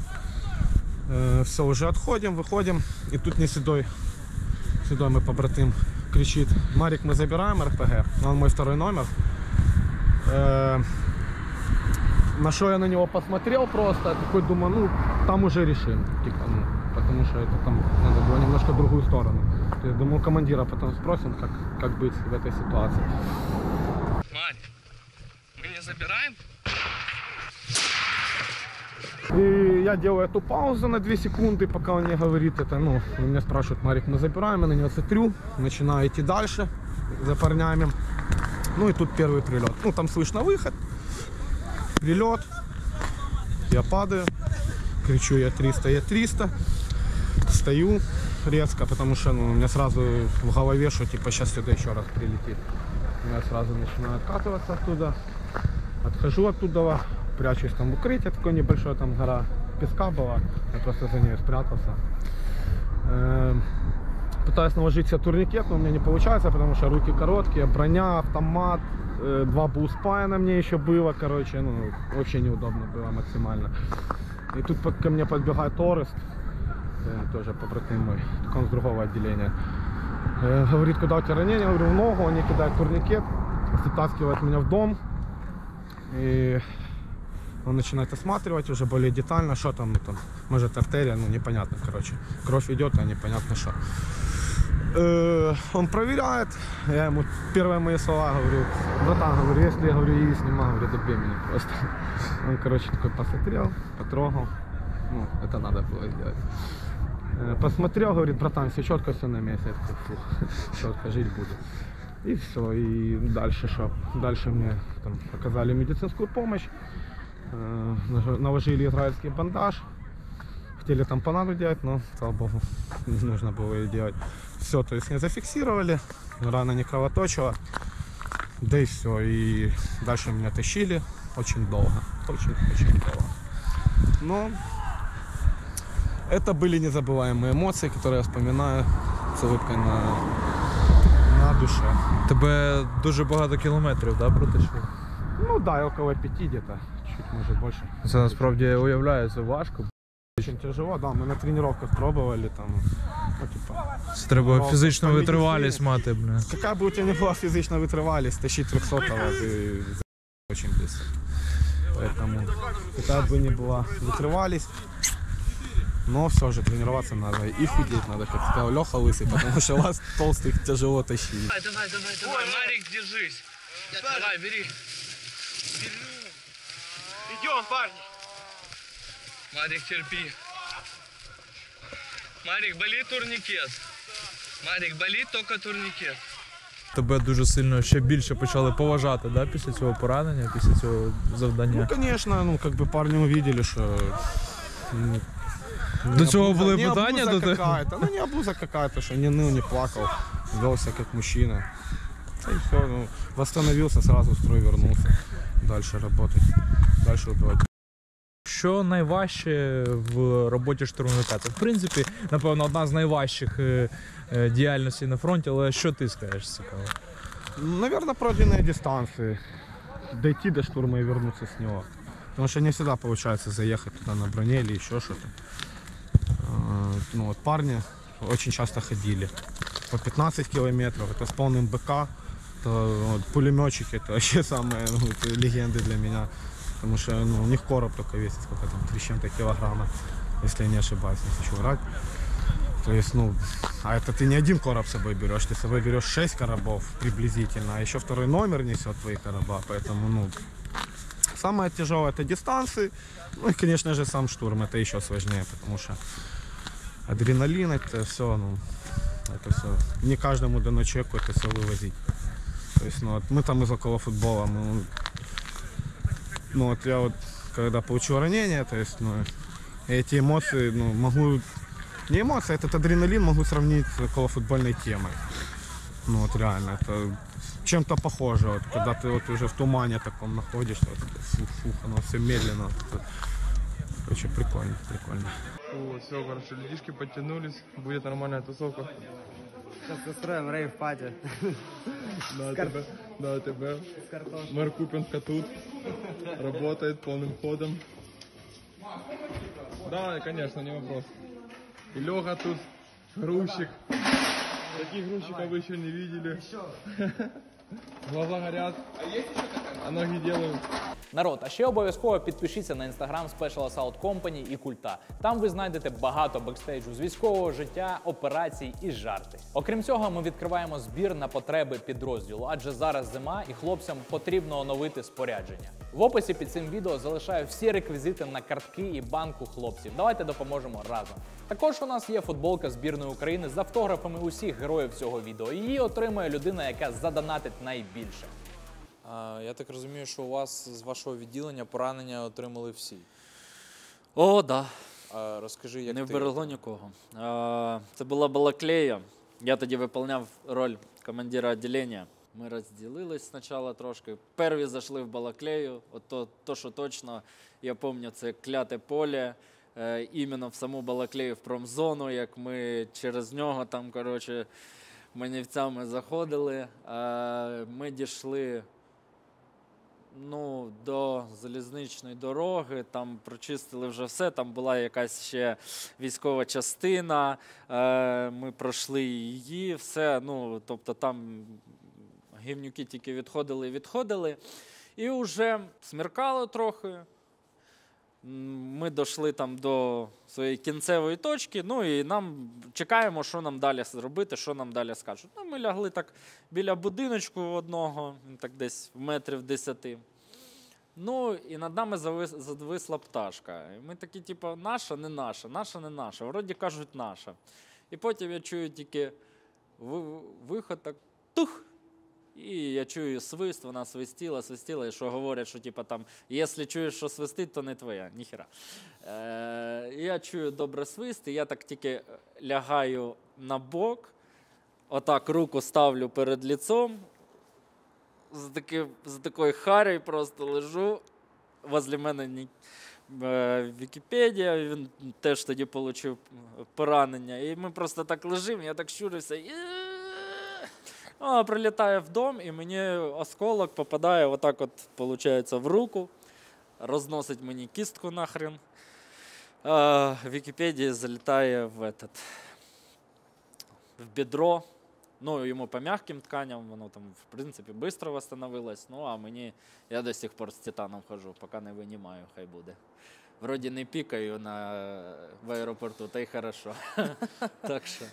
Все, уже отходим, выходим. И тут не седой мой побратим кричит: Марик, мы забираем РПГ. Он мой второй номер. На что я на него посмотрел просто, такой думаю, ну, там уже решим. Типа, ну, потому что это там надо было немножко другую сторону. То есть, думаю, командира потом спросим, как быть в этой ситуации. Марик, мы не забираем? И я делаю эту паузу на 2 секунды, пока он не говорит это. Ну, он меня спрашивает: Марик, мы забираем, я на него смотрю, начинаю идти дальше за парнями. Ну и тут первый прилет. Ну, там слышно выход, прилет, я падаю, кричу: я 300, стою резко, потому что, ну, у меня сразу в голове, что типа сейчас сюда еще раз прилетит. Я сразу начинаю откатываться оттуда, отхожу оттуда, прячусь там в укрытие, такое небольшое, там гора песка была, я просто за нее спрятался. Пытаюсь наложить себе турникет, но у меня не получается, потому что руки короткие, броня, автомат, 2 буспая на мне еще было, короче, ну, вообще неудобно было максимально. И тут ко мне подбегает Орест, тоже побратим мой, только он с другого отделения. Говорит: куда у тебя ранение? Я говорю: в ногу. Они кидают турникет, затаскивают меня в дом. И он начинает осматривать уже более детально, что там, ну, там, может артерия, ну, непонятно, короче. Кровь идет, а непонятно что. Он проверяет, я ему первые мои слова говорю: братан, говорю, если я говорю и снимаю, говорю, добей меня просто. Он, короче, такой посмотрел, потрогал, ну, это надо было сделать. Посмотрел, говорит: братан, все четко, все на месте. Я такой: фух, четко, жить буду. И все, и дальше что? Дальше мне там оказали медицинскую помощь, наложили израильский бандаж. Хотели там панаду делать, но, слава богу, не нужно было ее делать. Все, то есть не зафиксировали, рана не кровоточила, да и все. И дальше меня тащили очень долго, очень долго. Но это были незабываемые эмоции, которые я вспоминаю с улыбкой на душе. Тебе дуже багато кілометрів, да, протащили? Ну да, около 5 где-то, чуть може більше. Це насправді, я уявляю, це важко. Очень тяжело, да, мы на тренировках пробовали там, ну, типа... Це треба фізичну витривалість мати, бля. Какая бы у тебя ни была физичная вытривалість, тащить 300-го ты очень быстро. Поэтому, какая бы ни была вытривалість, но все же тренироваться надо и худеть надо, как сказал Леха Лысый, потому что вас толстых тяжело тащить. Давай, Марик, держись. Давай, бери. Идем, парни. Марик, терпи. Марик, болит турникет. Марик, болит только турникет. Тебе дуже сильно ще більше почали поважати, да, після цього поранення, після цього завдання? Ну, конечно, ну, как бы парни увидели, что... До цього були питання? Ну, не обуза какая-то, что не ныл, не плакал, велся как мужчина. И все, ну, восстановился, сразу в строй вернулся. Дальше работать, дальше убивать. Що найважче в роботі штурмовика? Це, в принципі, напевно, одна з найважчих діяльностей на фронті, але що ти скажеш цікаво? Наверное, пройденные дистанции. Дойти до штурма и вернуться с него. Потому что не всегда получается заехать туда на броне или еще что-то. Ну вот парни очень часто ходили. По 15 километров, это с полным БК. То, вот, пулеметчики, это вообще самые легенды для меня. Потому что, ну, у них короб только весит, сколько там, 3 с чем-то килограмма, если я не ошибаюсь, не хочу врать. То есть, ну, а это ты не один короб с собой берешь, ты с собой берешь 6 коробов приблизительно, а еще второй номер несет твои короба, поэтому, ну, самое тяжелое это дистанции, ну и, конечно же, сам штурм, это еще сложнее, потому что адреналин, это все, ну, это все, не каждому дано человеку это все вывозить. То есть, ну, вот мы там из около футбола, мы, ну, вот я вот, когда получил ранение, то есть, ну, эти эмоции, ну, могу, не эмоции, этот адреналин могу сравнить с околофутбольной темой. Ну, вот реально, это чем-то похоже, вот, когда ты вот уже в тумане таком находишься, вот, фух, оно все медленно. Это, короче, прикольно, прикольно. О, все, короче, людишки подтянулись, будет нормальная тусовка. Сейчас устроим рейв-пати. На АТБ. Мэр Купенска тут. Работает полным ходом. Да, конечно, не вопрос. И Леха тут, грузчик. Таких грузчиков вы еще не видели. Глаза горят, а ноги делают. Народ, а ще обов'язково підпишіться на інстаграм Special Assault Company і Культа. Там ви знайдете багато бекстейджу з військового життя, операцій і жарти. Окрім цього, ми відкриваємо збір на потреби підрозділу, адже зараз зима і хлопцям потрібно оновити спорядження. В описі під цим відео залишаю всі реквізити на картки і банку хлопців. Давайте допоможемо разом. Також у нас є футболка збірної України з автографами усіх героїв цього відео. Її отримає людина, яка задонатить найбільше. Я так розумію, що у вас з вашого відділення поранення отримали всі. О, да. Розкажи, як Не ти... вберегло нікого. Це була Балаклея. Я тоді виконував роль командира відділення. Ми розділились спочатку трошки. Перві зайшли в Балаклею. От то, що точно, я пам'ятаю, це кляте поле. Іменно в саму Балаклею, в промзону, як ми через нього там, коротше, манівцями заходили. Ми дійшли до залізничної дороги, там прочистили вже все, там була якась ще військова частина, ми пройшли її, все, тобто там гівнюки тільки відходили, і вже смеркало трохи. Ми дійшли там до своєї кінцевої точки, і нам чекаємо, що нам далі зробити, що нам далі скажуть. Ми лягли так біля будиночку одного, так десь в метрів 10. І над нами зависла пташка. І ми такі, типу, наша, не наша, наша, не наша. Вроді кажуть, наша. І потім я чую тільки виход, так, тух! І я чую свист, вона свистіла, і що говорять, що типу там, якщо чуєш, що свистить, то не твоя, ніхера. Я чую добре свист, і я так тільки лягаю на бок, отак руку ставлю перед лицом, з такою харею просто лежу, возле мене Вікіпедія, він теж тоді отримав поранення, і ми просто так лежимо, я так щурився, прилітає в дом, і мені осколок попадає отак от, виходить, в руку, розносить мені кістку нахрен. В Вікіпедії залітає в бедро. Йому по м'яким тканям, воно там, в принципі, швидко відновилось. А мені, я до сих пор з титаном хожу, поки не винімаю, хай буде. Вроді не пікаю в аеропорту, та й хорошо. Так що...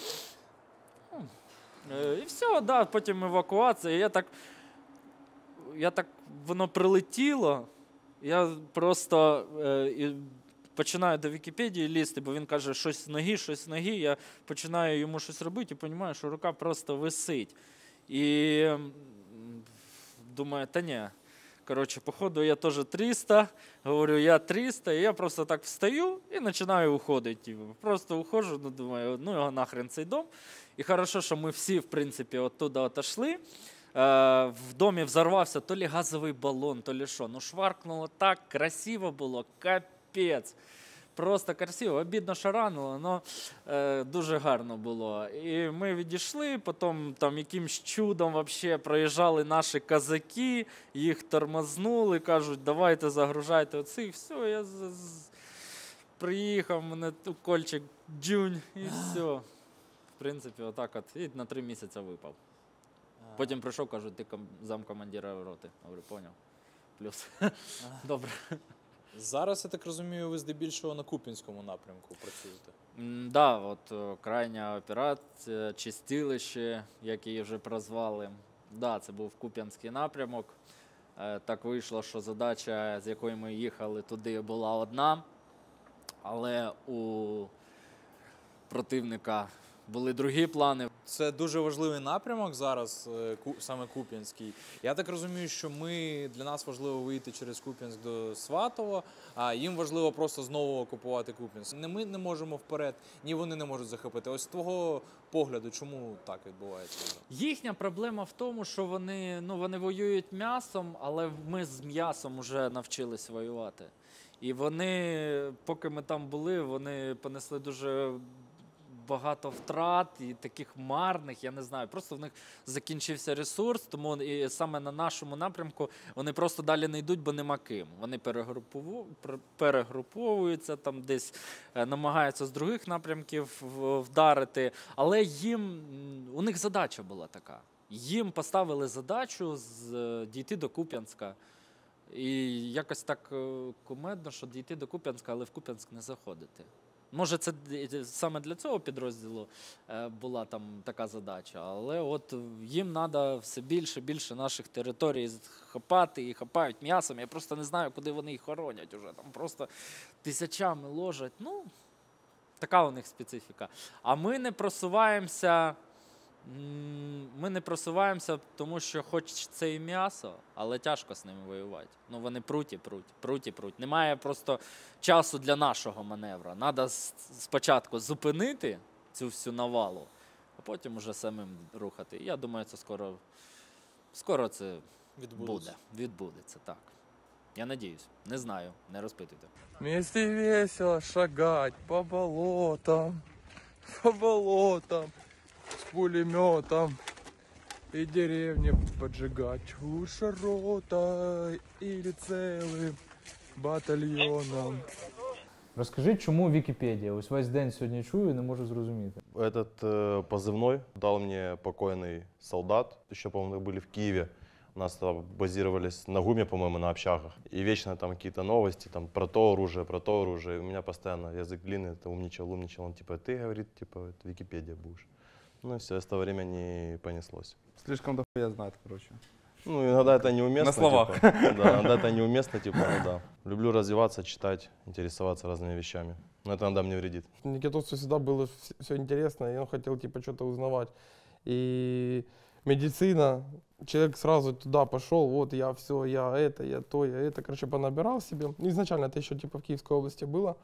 І все, да, потім евакуація. Я так, воно прилетіло, я просто починаю до Вікіпедії лізти, бо він каже, щось з ноги, я починаю йому щось робити і розумію, що рука просто висить. І думаю, та ні. Коротше, походу, я теж 300, говорю, я 300, і я просто так встаю і починаю уходити. Просто уходжу, думаю, його нахрен цей дом. І хорошо, що ми всі, в принципі, оттуда отошли. В домі взорвався то лі газовий балон, то лі що. Шваркнуло так, красиво було, капець. Просто красиво, обідно, що ранило, але дуже гарно було. І ми відійшли, потім там якимсь чудом вообще проїжджали наші козаки, їх тормознули, кажуть, давайте загружайте оцих. Все, я приїхав, мене укольчик джунь і все. В принципі, отак от. І на 3 місяці випав. Потім прийшов, кажуть, ти замкомандира роти. Говорю, поняв. Плюс. Добре. Зараз, я так розумію, ви здебільшого на Куп'янському напрямку працюєте? Да, от крайня операція, чистилище, як її вже прозвали. Да, це був Куп'янський напрямок. Так вийшло, що задача, з якою ми їхали туди, була одна, але у противника були другі плани. Це дуже важливий напрямок зараз, саме Куп'янський. Я так розумію, що для нас важливо вийти через Куп'янськ до Сватово, а їм важливо просто знову окупувати Куп'янськ. Не ми не можемо вперед, ні вони не можуть захопити. Ось з твого погляду, чому так відбувається? Їхня проблема в тому, що вони воюють м'ясом, але ми з м'ясом вже навчились воювати. І вони, поки ми там були, вони понесли дуже багато втрат і таких марних, я не знаю, просто в них закінчився ресурс, тому і саме на нашому напрямку вони просто далі не йдуть, бо нема ким. Вони перегруповуються, там десь намагаються з других напрямків вдарити, але у них задача була така. Їм поставили задачу дійти до Куп'янська. І якось так кумедно, що дійти до Куп'янська, але в Куп'янськ не заходити. Може, це саме для цього підрозділу була там така задача, але от їм треба все більше і більше наших територій хапати і хапають м'ясом. Я просто не знаю, куди вони їх хоронять уже. Там просто тисячами ложать. Ну, така у них специфіка. А ми не просуваємося, тому що хоч це і м'ясо, але тяжко з ними воювати. Ну, вони пруть. Немає просто часу для нашого маневру. Треба спочатку зупинити цю всю навалу, а потім уже самим рухати. Я думаю, це скоро це відбудеться, так. Я надіюсь. Не знаю, не розпитуйте. Вместе весело шагать по болотам, с пулеметом и деревни поджигать лучше ротой или целым батальйоном. Розкажи, чому Вікіпедія? Ось весь день сьогодні чую і не можу зрозуміти. Этот позывной дал мне покойный солдат. Еще, по-моему, были в Киеве. У нас там базировались на ГУМе, по-моему, на общагах. И вечно там какие-то новости там, про то оружие. И у меня постоянно язык длинный, это умничал. Он типа, ты, говорит, типа, это Википедия будешь. Ну и все, с того времени понеслось. Слишком дохуя знает, короче. Ну, иногда это неуместно. На словах. Типа, да, иногда это неуместно, типа, ну да. Люблю развиваться, читать, интересоваться разными вещами. Но это иногда мне вредит. Никитосу всегда было все интересно, и он хотел, типа, что-то узнавать. И медицина, человек сразу туда пошел, вот я все, я это, короче, понабирал себе. Изначально это еще, типа, в Киевской области было.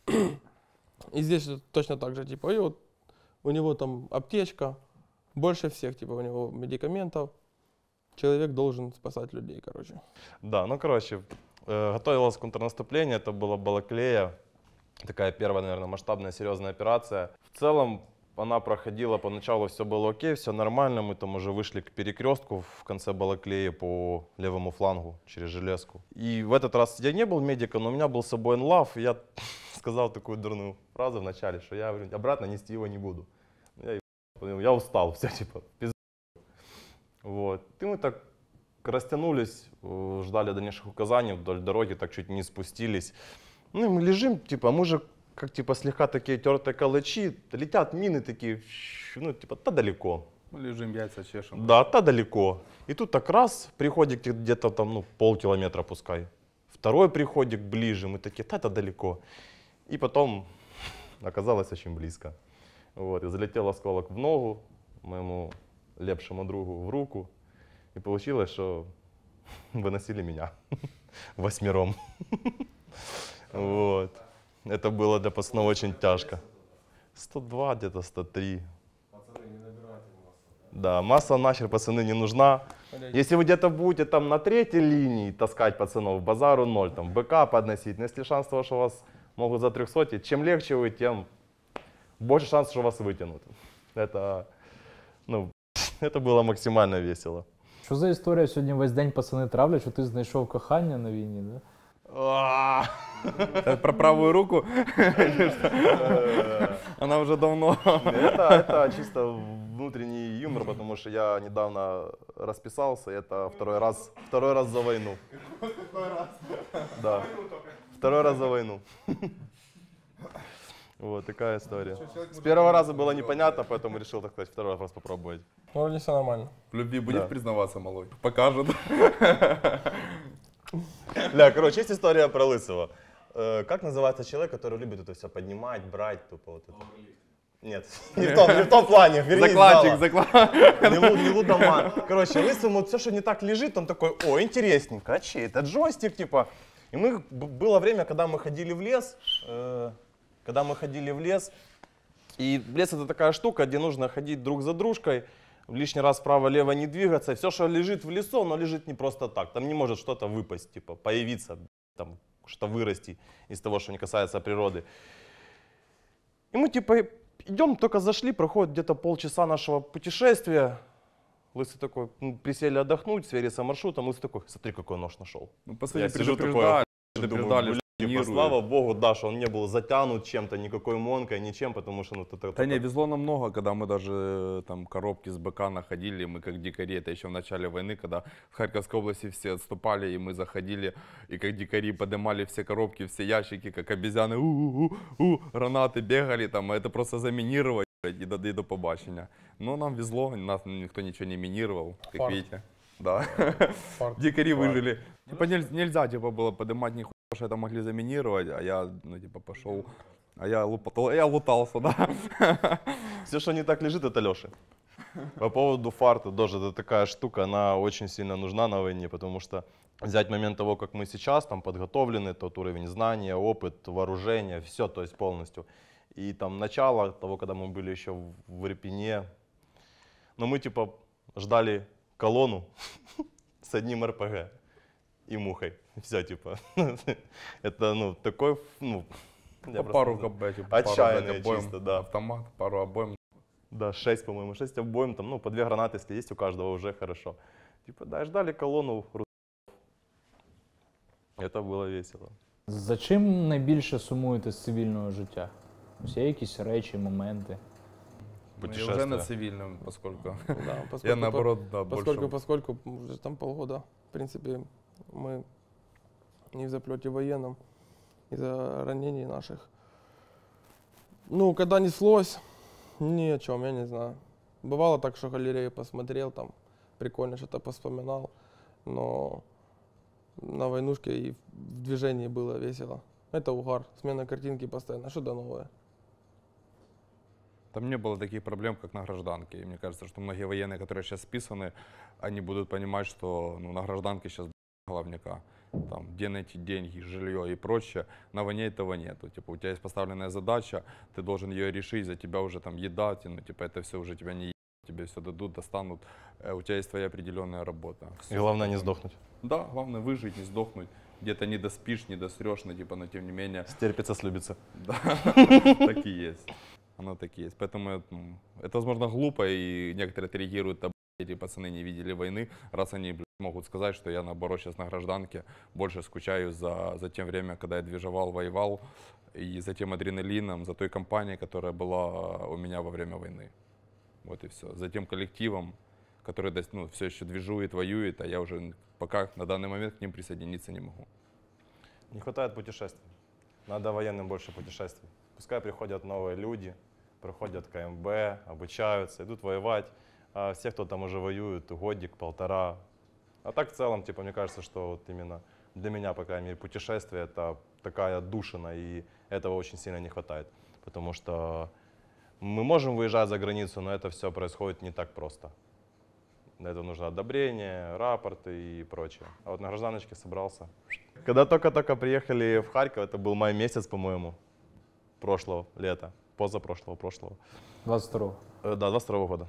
И здесь точно так же, типа, и вот у него там аптечка, больше всех, типа, у него медикаментов. Человек должен спасать людей, короче. Да, ну, короче, готовилось контрнаступление, это была Балаклея. Такая первая, наверное, масштабная, серьезная операция. В целом, она проходила, поначалу все было окей, все нормально. Мы там уже вышли к перекрестку в конце Балаклеи по левому флангу через железку. И в этот раз я не был медиком, но у меня был с собой НЛАВ. И я сказал такую дурную фразу в начале, что я говорю, обратно нести его не буду. Я устал, все типа, пизда. Вот. И мы так растянулись, ждали дальнейших указаний вдоль дороги, так чуть не спустились. Ну и мы лежим, типа, мы же как типа слегка такие тертые калачи, летят мины такие, ну типа, та далеко. Мы лежим, яйца чешем. Да, та далеко. И тут так раз, приходик где-то там, ну, полкилометра пускай. Второй приходик ближе, мы такие, та далеко. И потом оказалось очень близко. Вот, и залетел осколок в ногу, моему лепшему другу в руку. И получилось, что выносили меня 8. Вот. Это было для пацанов очень тяжко. 102, где-то 103. Да, масса нахер, пацаны, не нужна. Если вы где-то будете там на 3-й линии таскать пацанов, базару 0, там БК подносить, но если шанс того, что вас могут за 300, чем легче вы, тем больше шансов, что вас вытянут. Это, ну, это было максимально весело. Що за історія? Сьогодні весь день пацани травлять, що ти знайшов кохання на війні, да? Про правую руку? Она уже давно. Это чисто внутренний юмор, потому что я недавно расписался, это второй раз за войну. Да, второй раз за войну. Вот такая история. С первого раза было непонятно, поэтому решил, так сказать, второй раз попробовать. Вроде все нормально. В любви будет Да. признаваться, малой? Покажет. Бля, короче, есть история про Лысого. Как называется человек, который любит это все поднимать, брать, тупо вот это? Нет, не в том плане, вернее, не лудоман. Короче, Лысому все, что не так лежит, он такой: о, интересненько, а чей это джойстик, типа. И было время, когда мы ходили в лес, и лес — это такая штука, где нужно ходить друг за дружкой, лишний раз вправо-лево не двигаться. Все, что лежит в лесу, оно лежит не просто так. Там не может что-то выпасть, типа появиться, там что-то вырасти из того, что не касается природы. И мы типа идем, только зашли, проходит где-то полчаса нашего путешествия. Лысый такой, присели отдохнуть, свериться маршрутом. Лысый такой: смотри, какой нож нашел. Ну, по сути, Я сижу такой, думаю, типа, слава богу, да, что он не был затянут чем-то, никакой монкой, ничем, потому что... Да не, везло намного, когда мы даже там коробки с БК находили, мы как дикари, это еще в начале войны, когда в Харьковской области все отступали, и мы заходили, и как дикари поднимали все коробки, все ящики, как обезьяны, гранаты бегали там, а это просто заминировать и до побачення. Но нам везло, нас никто ничего не минировал, как Фарт. видите. Да. Фарт. Дикари выжили. Типа нельзя типа было поднимать нихуя, что это могли заминировать, а я, ну типа пошел, а я лутался, да. Все, что не так лежит, это Леша. По поводу фарта, тоже это такая штука, она очень сильно нужна на войне, потому что взять момент того, как мы сейчас там подготовлены, тот уровень знания, опыт, вооружение, все, то есть полностью. И там начало того, когда мы были еще в Ирпене, но мы типа ждали колонну с одним РПГ и мухой. Все, типа. Это, ну, такой, ну, пару КБ, отчаянный чисто, да. Автомат, пару обоим. Да, 6, по-моему, 6 обоим, там, ну, по 2 гранаты, если есть у каждого, уже хорошо. Типа, да, ждали колонну. Это було весело. За чим найбільше сумуєте з цивільного життя? Ось є якісь речі, моменти? Я уже на цивильном, поскольку, Да, я наоборот, да, больше. Поскольку уже там полгода, в принципе, мы не в заплете военном, из-за ранений наших. Ну, когда неслось, ни о чем, я не знаю. Бывало так, что галерею посмотрел, там, прикольно что-то поспоминал, но на войнушке и в движении было весело. Это угар, смена картинки постоянно, что-то новое. Там не было таких проблем, как на гражданке. И мне кажется, что многие военные, которые сейчас списаны, они будут понимать, что ну, на гражданке сейчас головняка. Там, где найти деньги, жилье и прочее. На войне этого нету. Типа, у тебя есть поставленная задача, ты должен ее решить, за тебя уже там еда, ну, типа, это все уже тебя не едят, тебе все дадут, достанут. У тебя есть твоя определенная работа. И главное не сдохнуть. Да, главное выжить, не сдохнуть. Где-то не доспишь, не досрешь, но, типа, но тем не менее... Стерпится, слюбится. Да, так и есть. Оно так и есть. Поэтому это, возможно, глупо, и некоторые отреагируют, эти пацаны не видели войны, раз они могут сказать, что я, наоборот, сейчас на гражданке больше скучаю за тем время, когда я движевал, воевал, и за тем адреналином, за той компанией, которая была у меня во время войны. Вот и все. За тем коллективом, который ну, все еще движует, воюет, а я уже пока на данный момент к ним присоединиться не могу. Не хватает путешествий. Надо военным больше путешествий. Пускай приходят новые люди, проходят КМБ, обучаются, идут воевать. А все, кто там уже воюет, годик, полтора. А так в целом, типа, мне кажется, что вот именно для меня, по крайней мере, путешествие — это такая отдушина, и этого очень сильно не хватает. Потому что мы можем выезжать за границу, но это все происходит не так просто. Для этого нужно одобрение, рапорты и прочее. А вот на гражданочке собрался. Когда только-только приехали в Харьков, это был май месяц, по-моему, прошлого лета, позапрошлого, прошлого. 22-го? Да, 22-го года.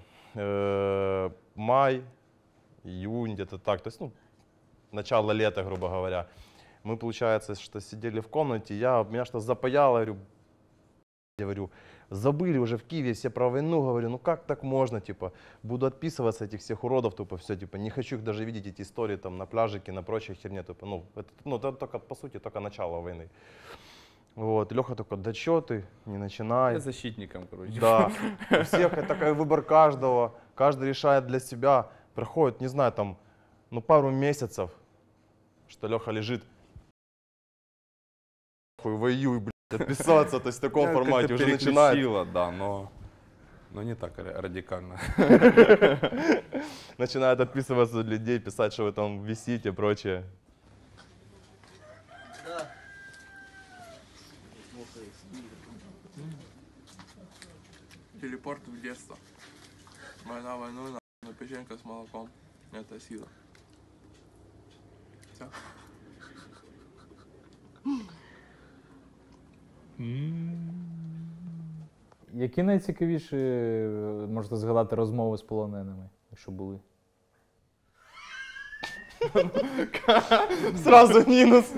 Май, июнь, где-то так. То есть, ну, начало лета, грубо говоря. Мы, получается, что сидели в комнате, меня что запаяло, говорю, забыли уже в Киеве все про войну, говорю, ну как так можно, типа, буду отписываться этих всех уродов, тупо, все, типа, не хочу их даже видеть, эти истории там на пляжике, на прочей херне, тупо, это только, по сути, только начало войны. Вот, Леха такой: да чё ты, не начинай. Я защитником, короче. Да, у всех такой выбор каждого, каждый решает для себя. Проходит, не знаю, там, ну пару месяцев, что Леха лежит, воюй, блядь, отписаться, то есть в таком Я формате как-то уже начинает. переключила, да, но не так радикально. Начинает отписываться от людей, писать, что вы там висите и прочее. Телепорт в детство. Война войной, но печенька с молоком. Это сила. Все. Які найцікавіші можете згадати розмови з полоненими, якщо були? Сразу минус.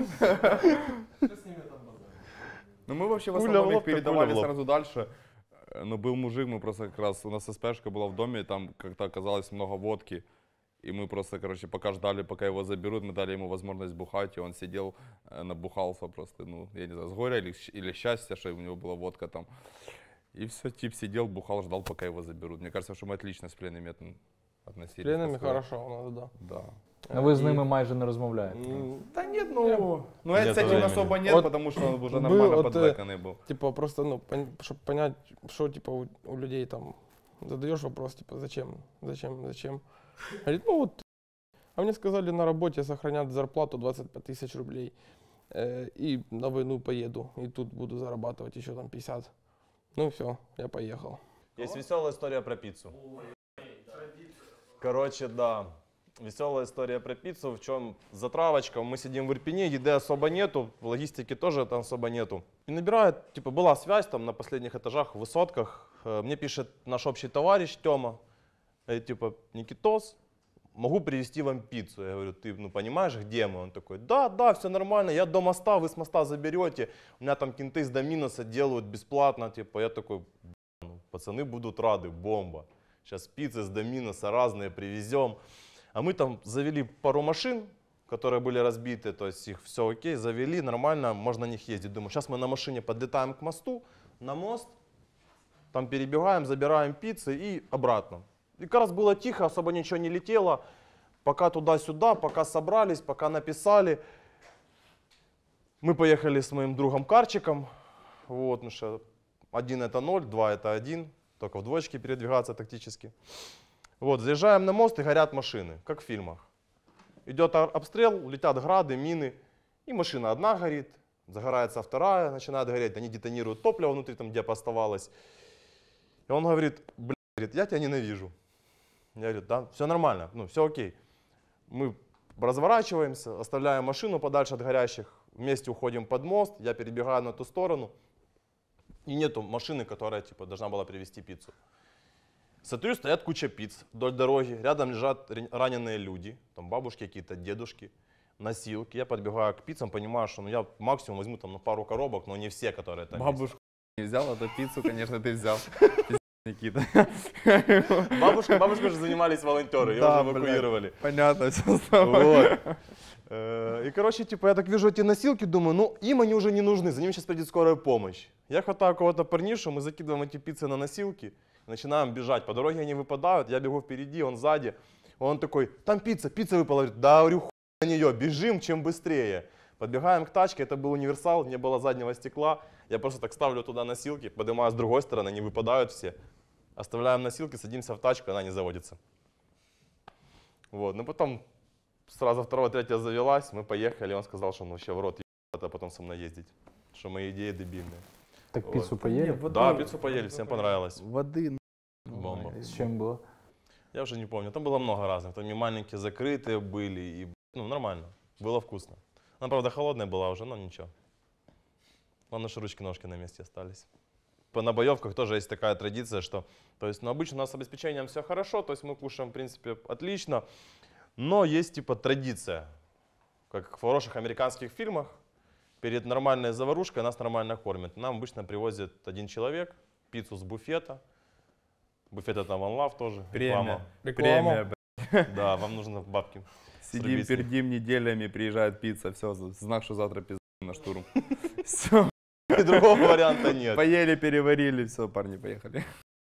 Ну мы вообще в Пуля в основном лоб, их так передавали пуля в лоб. сразу дальше. Но был мужик, мы просто как раз, у нас СПшка была в доме, и там как-то оказалось много водки. И мы просто, короче, пока ждали, пока его заберут, мы дали ему возможность бухать, и он сидел, набухался просто, ну, я не знаю, с горя или счастья, что у него была водка там. И все, тип сидел, бухал, ждал, пока его заберут. Мне кажется, что мы отлично с пленными относились. С пленными хорошо у нас, да. Да. Ну ви з ними майже не розмовляєте? Да нет, ну с этим особо нет, потому что он уже нормально подвеканный был. Типа просто, ну, чтобы понять, что типа у людей там, задаешь вопрос, типа, зачем? Говорит, ну вот, а мне сказали, на работе сохранят зарплату 25 тысяч рублей, и на войну поеду, и тут буду зарабатывать еще там 50. Ну все, я поехал. Есть веселая история про пиццу. Короче, да, веселая история про пиццу, в чем затравочка. Мы сидим в Ирпене, еды особо нету, логистики тоже там особо нету. И набирает, типа, была связь там на последних этажах, в высотках. Мне пишет наш общий товарищ Тёма, типа, Никитос, могу привезти вам пиццу. Я говорю, ты, ну, понимаешь, где мы? Он такой, да, все нормально, я до моста, вы с моста заберете. У меня там кенты с Доминоса делают бесплатно, типа, я такой, ну, пацаны будут рады, бомба. Сейчас пиццы с Доминоса разные привезем. А мы там завели пару машин, которые были разбиты, то есть их все окей, завели, нормально, можно на них ездить. Думаю, сейчас мы на машине подлетаем к мосту, на мост, там перебегаем, забираем пиццы и обратно. И как раз было тихо, особо ничего не летело, пока туда-сюда, пока собрались, пока написали. Мы поехали с моим другом Карчиком, вот, ну что, 1 это 0, 2 это 1, только в двоечке передвигаться тактически. Вот, заезжаем на мост и горят машины, как в фильмах. Идет обстрел, летят грады, мины, и машина одна горит, загорается вторая, начинает гореть, они детонируют топливо внутри, там где оставалось. И он говорит, блядь, я тебя ненавижу. Я говорю, да, все нормально, ну все окей. Мы разворачиваемся, оставляем машину подальше от горящих, вместе уходим под мост, я перебегаю на ту сторону. И нету машины, которая типа должна была привезти пиццу. Смотрю, стоят куча пиц вдоль дороги, рядом лежат раненые люди, там бабушки какие-то, дедушки, носилки. Я подбегаю к пиццам, понимаю, что ну, я максимум возьму там, пару коробок, но не все, которые там Бабушку не взял, а то пиццу, конечно, ты взял. Никита. Бабушка же занимались волонтеры, ее уже эвакуировали. Понятно, все вот. И, короче, типа, я так вижу эти носилки, думаю, ну, им они уже не нужны, за ними сейчас придет скорая помощь. Я хватаю кого-то парнишу, мы закидываем эти пиццы на носилки, начинаем бежать. По дороге они выпадают, я бегу впереди, он сзади. Он такой, там пицца выпала. Говорит, да, говорю, хуй на нее, бежим, чем быстрее. Подбегаем к тачке, это был универсал, не было заднего стекла. Я просто так ставлю туда носилки, поднимаю с другой стороны, они выпадают все. Оставляем носилки, садимся в тачку, она не заводится. Вот, ну потом сразу вторая, третья завелась, мы поехали, он сказал, что он вообще в рот ебет, а потом со мной ездить. Что мои идеи дебильные. Так вот. пиццу поели? Да, пиццу поели, всем понравилось. Воды. Бомба. С чем было? Я уже не помню, там было много разных, там и маленькие закрытые были, и, ну, нормально, было вкусно. Она, правда, холодная была уже, но ничего. Главное, что ручки-ножки на месте остались. На боевках тоже есть такая традиция, что, то есть, ну, обычно у нас с обеспечением все хорошо, то есть мы кушаем, в принципе, отлично, но есть, типа, традиция, как в хороших американских фильмах, перед нормальной заварушкой нас нормально кормят. Нам обычно привозит один человек пиццу с буфета. Буфет это One Love тоже. Премия. Реклама. Да, вам нужно бабки. Сидим, пердим неделями, приезжает пицца, все, знак, что завтра пизда на штурм. Все. И другого варианта нет. Поели, переварили, все, парни, поехали.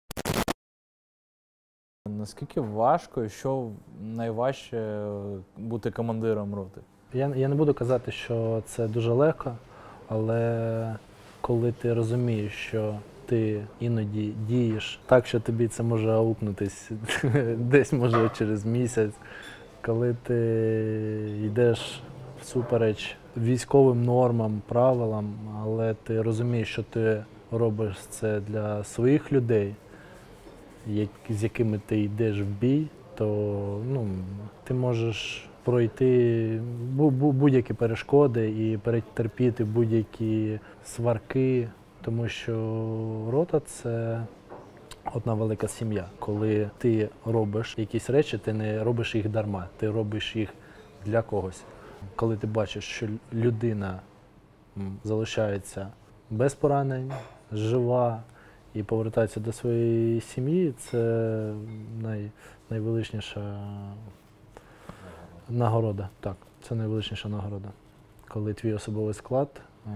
Наскільки важко і що найважче бути командиром роти? Я не буду казати, що це дуже легко, але коли ти розумієш, що ти іноді дієш так, що тобі це може аукнутись десь, може, через місяць, коли ти йдеш всупереч військовим нормам, правилам, але ти розумієш, що ти робиш це для своїх людей, з якими ти йдеш в бій, то ти можеш пройти будь-які перешкоди і перетерпіти будь-які сварки, тому що рота – це одна велика сім'я. Коли ти робиш якісь речі, ти не робиш їх дарма, ти робиш їх для когось. Коли ти бачиш, що людина залишається без поранень, жива і повертається до своєї сім'ї, це найвеличніша нагорода. Так, це найвеличніша нагорода. Коли твій особовий склад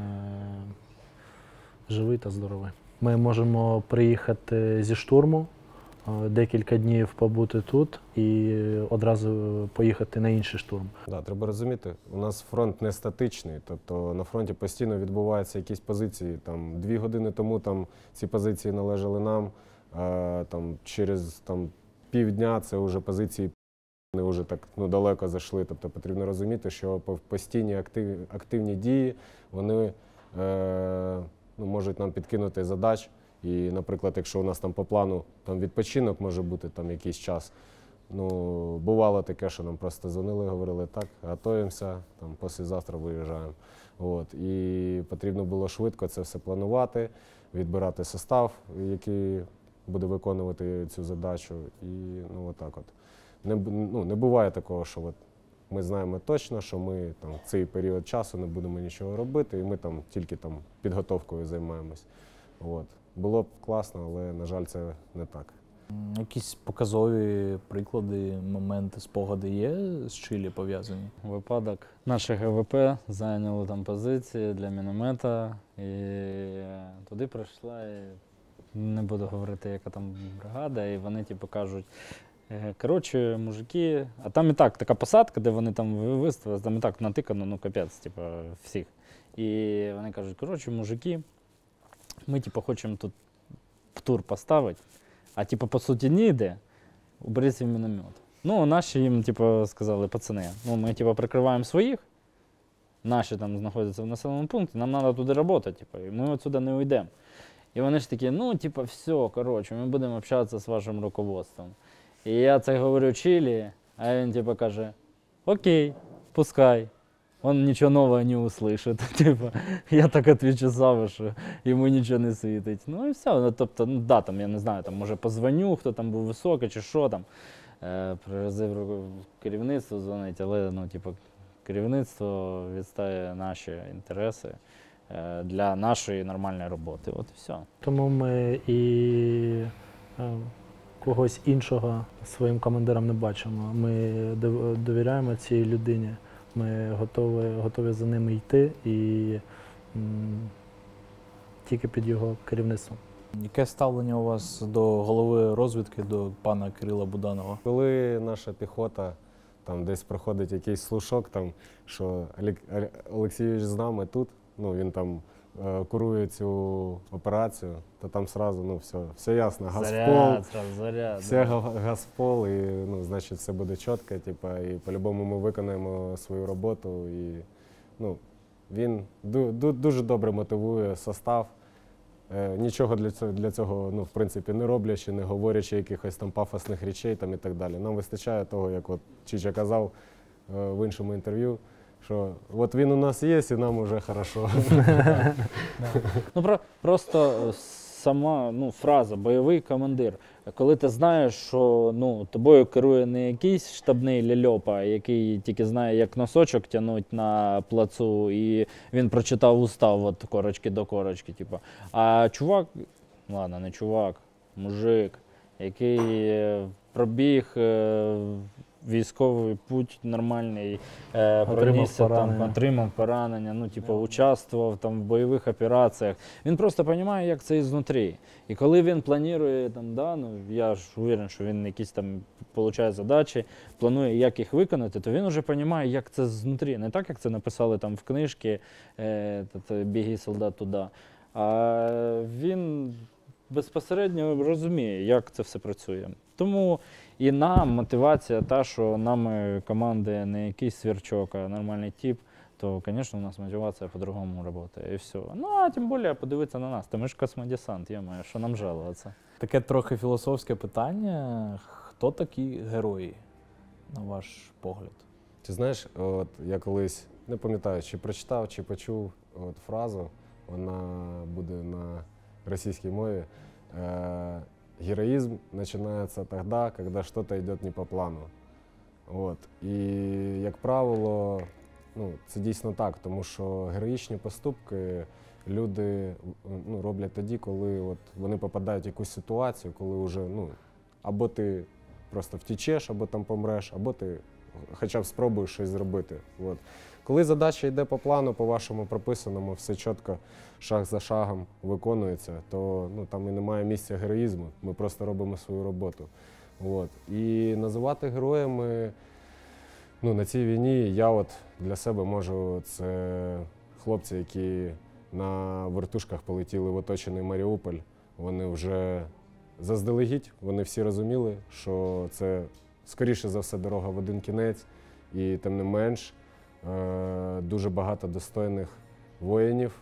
живий та здоровий. Ми можемо приїхати зі штурму, декілька днів побути тут і одразу поїхати на інший штурм. Да, треба розуміти, у нас фронт не статичний, тобто на фронті постійно відбуваються якісь позиції. 2 години тому ці позиції належали нам, через півдня це вже позиції вони вже так далеко зайшли. Тобто потрібно розуміти, що постійні активні дії, вони можуть нам підкинути задач. І, наприклад, якщо у нас по плану відпочинок може бути якийсь час, бувало таке, що нам просто дзвонили, говорили, так, готуємося, післязавтра виїжджаємо. І потрібно було швидко це все планувати, відбирати состав, який буде виконувати цю задачу. І отак от. Не буває такого, що ми знаємо точно, що ми в цей період часу не будемо нічого робити, і ми тільки підготовкою займаємось. Було б класно, але, на жаль, це не так. Якісь показові приклади, моменти, спогади є з Чилі пов'язані? Випадок. Наші ГВП зайняли там позиції для міномета, і туди прийшла, не буду говорити, яка там бригада, і вони кажуть, коротше, мужики, а там і так така посадка, де вони там виставили, там і так натикано, капець, всіх. І вони кажуть, коротше, мужики, ми хочемо тут тур поставити, а по суті ніде, уберіть свій міномет. Наші їм сказали, пацани, ми прикриваємо своїх, наші там знаходяться в населеному пункті, нам треба туди працювати, і ми отсюди не уйдемо. І вони ж такі, все, коротше, ми будемо общатися з вашим руководством. І я це говорю Чилі, а він каже, окей, пускай. Он нічого нового не услышит. Я так відповідаю Саву, що йому нічого не світить. І все. Тобто, я не знаю, може позвоню, хто там був високий чи що там. Приразив керівництво дзвонить, але керівництво відстає наші інтереси для нашої нормальної роботи. От і все. Тому ми і когось іншого своїм командирам не бачимо. Ми довіряємо цій людині. Ми готові за ними йти і тільки під його керівництвом. Яке ставлення у вас до голови розвідки, до пана Кирила Буданова? Коли наша піхота десь проходить якийсь слушок, що Олексійович з нами тут, він курує цю операцію, то там одразу все ясно, газпол, все газпол, і значить все буде чітко, і по-любому ми виконаємо свою роботу. І він дуже добре мотивує состав, нічого для цього в принципі не роблячи, не говорячи якихось пафосних речей і так далі. Нам вистачає того, як Чича казав в іншому інтерв'ю, що от він у нас є, і нам уже хорошо. Просто сама фраза «бойовий командир». Коли ти знаєш, що тобою керує не якийсь штабний ляльопа, який тільки знає, як носочок тягнуть на плацу, і він прочитав устав от корочки до корочки, а чувак, ладно, не чувак, мужик, який пробіг військовий путь нормальний, отримав поранення, участвував в бойових операціях. Він просто розуміє, як це ізнутрі. І коли він планує, я ж уверен, що він якісь отримує задачі, планує, як їх виконати, то він вже розуміє, як це знутрі. Не так, як це написали в книжці «Біги, солдат, туди». А він безпосередньо розуміє, як це все працює. Тому і нам мотивація та, що нами команди не якийсь свірчок, а нормальний тип, то, звісно, у нас мотивація по-другому працює, і все. Ну, а тим більше подивитися на нас, то ми ж космодесант, є-моє, що нам жалуватися. Таке трохи філософське питання. Хто такі герої, на ваш погляд? Ти знаєш, от я колись, не пам'ятаю, чи прочитав, чи почув от фразу, вона буде на російській мові. Героизм начинается тогда, когда что-то идет не по плану. От. І, як правило, ну, це дійсно так, тому що героїчні поступки люди роблять тоді, коли от вони попадають в якусь ситуацію, коли вже, або ти просто втічеш, або там помреш, або ти хоча б спробуєш щось зробити. От. Коли задача йде по плану, по вашому прописаному, все чітко, шаг за шагом виконується, то там і немає місця героїзму, ми просто робимо свою роботу. От. І називати героями на цій війні я от для себе можу, це хлопці, які на вертушках полетіли в оточений Маріуполь, вони вже заздалегідь, вони всі розуміли, що це, скоріше за все, дорога в один кінець, і тим не менш, дуже багато достойних воїнів,